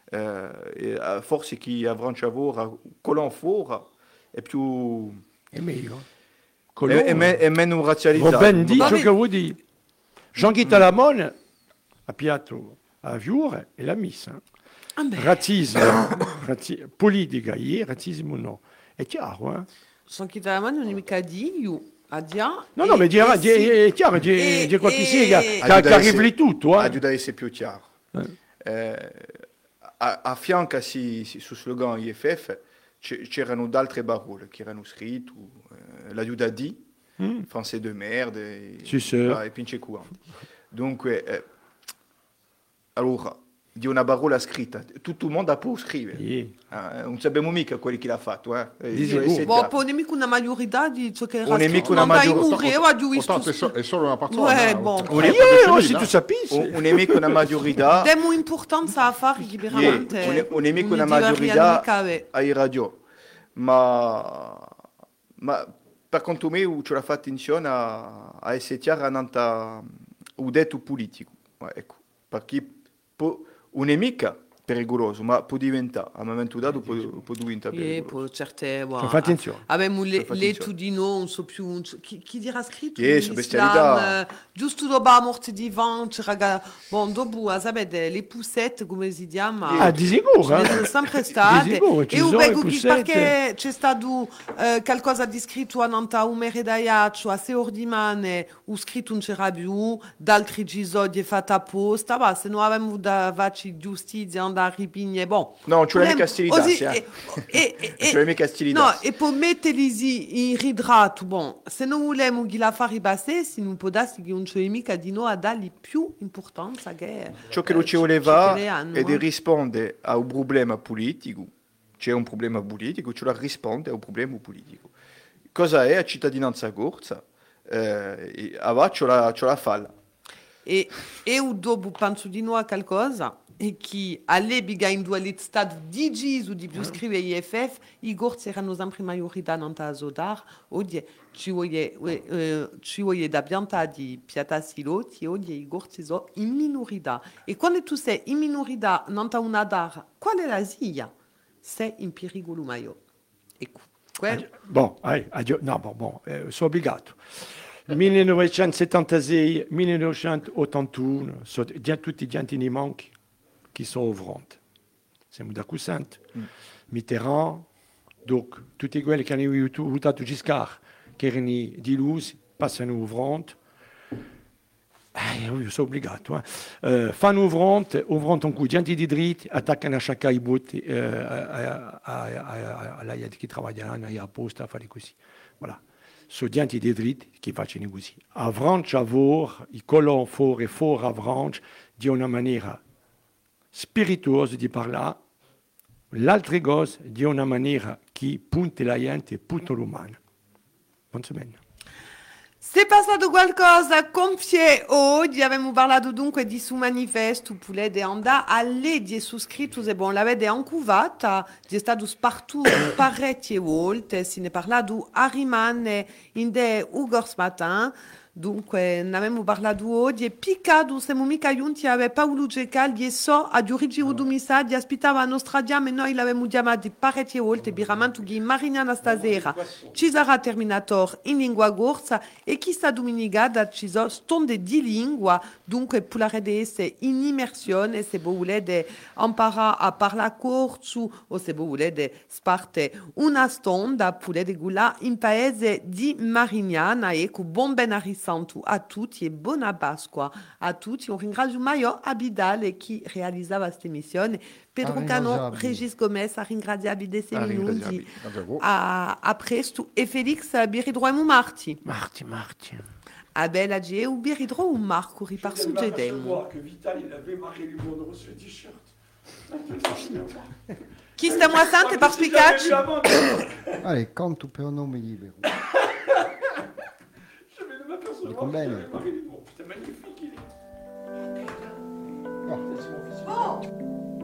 Uh, forse chi a Franciavora, colon fuori, è più... È meglio. È, è, me, è meno razzializzato. Ben di ciò che vuol dire. Jean-Guy Talamone ha piato a Viure e l'ha messa. Ah razzismo, razzi- politica, yeah, razzismo no. È chiaro, eh? Jean-Guy Talamone non è mica di io. A dia, no, no, ma dirà, sì. è chiaro, c'è, c'è qualche siga che arriva tutto. Eh. Aiuta a essere più chiaro. Eh. Eh, a, a fianco si, si, sul slogan I F F c'erano altre parole che erano scritte, eh, l'aiuta di, mm. français de merde, e, sì, sì. Ah, e pince courant. Dunque, eh, allora, di una parola scritta, tutto il mondo può scrivere. Yeah. Ah, non sappiamo mica quelli che l'ha fatto. Eh. Bon, poi non è mica una maggiorità di ciò che era scritto, non dai mureva di Otanto è solo una persona. Ouais, bon. Non è tu sapisci. Non è mica una maggiorità. Diamo importanza a fare liberamente. Non è mica una maggiorità ai radio. Ma, ma per conto mio ci ho fatto attenzione a, a essere chiara nel detto politico. Ecco, perché po, un nemica pericoloso, ma può diventare, a un momento dato può, può diventare E pericoloso. poi certe... Wow. Fa attenzione. Abbiamo le, Fa le attenzione. tudino, non so più... non so- chi, chi dirà scritto? Yes, in bestialità. Islam, eh, giusto dopo la morte di Ivan, c'era... ga- Bon, dopo, sapete, le poussette, come si chiama? Ah, di sicuro, Ce ne eh? sono sempre state. Di sicuro, ci E sono io le vedo che poussette. perché c'è stato eh, qualcosa di scritto a Nanta Umere Daiaccio, a sei ore di mane, o scritto non c'era più, d'altri episodi fatti apposta, ma se non avevamo da farci giustizia, andare a ripigne, bon. No, ci vuole Volem- mica stilità, così- sì, eh. e- e- e- Ci vuole mica stilità. No, e poi metterli in ridrato, bon, se non vogliamo che la fare ripassare, se non può darsi che non c'è mica di noi a dargli più importanza che... Ciò che eh, lo ci voleva che le hanno, è di eh. rispondere a un problema politico, c'è un problema politico, ci la risponde a un problema politico. Cosa è la cittadinanza corsa? Eh, e a c'è la, c'è la falla. E eu dopo penso di noi a qualcosa e che all'epoca in due stati di Gesù di più scrive I F F i gorzi erano sempre maggiorità non ta sodar oggi ci vuole eh, ci vuole da pianta di piata siloti oggi i gorzi sono in minorità e quando tu sei in minorità non ta una dar qual è la zia sei in pericolo maggiore ecco quel- Bon, allez, addio. No, bon, bon, eh, sono obbligato. millenovecentosettantasei millenovecentottantuno, sono già tutti gli antinimenti che sono fronte. Siamo d'accordo? Mitterrand, donc, tutti quelli che hanno votato Giscard, che erano delusi, passano fronte. Eh, io sono obbligato. Eh. Eh, fanno fronte, o fronte un coup, gente di dritti, attaccano a chaque i botti, eh, a, a, a, alla gente che lavorano, a posta, a fare così. Voilà. Sono gente di dritti che fanno così. A Francia, a vor, i colons for e for a Francia, di una maniera spirituosa di parlare, l'altra cosa di una maniera che punta la gente e punta l'umano. Non so bene. Se è passato qualcosa, compie oggi abbiamo parlato dunque di su manifesto, volete andare alle di iscritti e bon, l'avete ancuvata, è stato spartito parecchie volte, se ne è parlato a rimane in de Ugors Matin, dunque ne abbiamo parlato oggi e piccato siamo mica giunti a Paolo Gecaldi e so a Giorgio Udumisa di aspettava la nostra diam e noi l'abbiamo chiamato parecchie volte biramantu che Marignana stasera ci sarà Terminator in lingua corsa e questa domenica ci sono stonde di lingua dunque potete essere in immersione se volete imparare a parlare corso o se volete sparte una stonda potete guardare in paese di Marignana e con buon ben Santo a tutti e buona Pasqua a tutti. Un ringrazio Maio Abidale che realizzava questa emissione. Pedro Cano, Arringraziabile. Regis Gomez, a ringraziabili dei sei minuti. Arringraziabili. A, a presto. E Felix Biridroimo Marti. Marti, Marti. A Bella G e Biridro Marco riparso de Demo. que Vital il avait marqué du Monroe sur le t-shirt. Chi stiamo a Sante per spiegarci? Allez, canto per un nome libero. Dico bene. C'était magnifique. il est. Oh.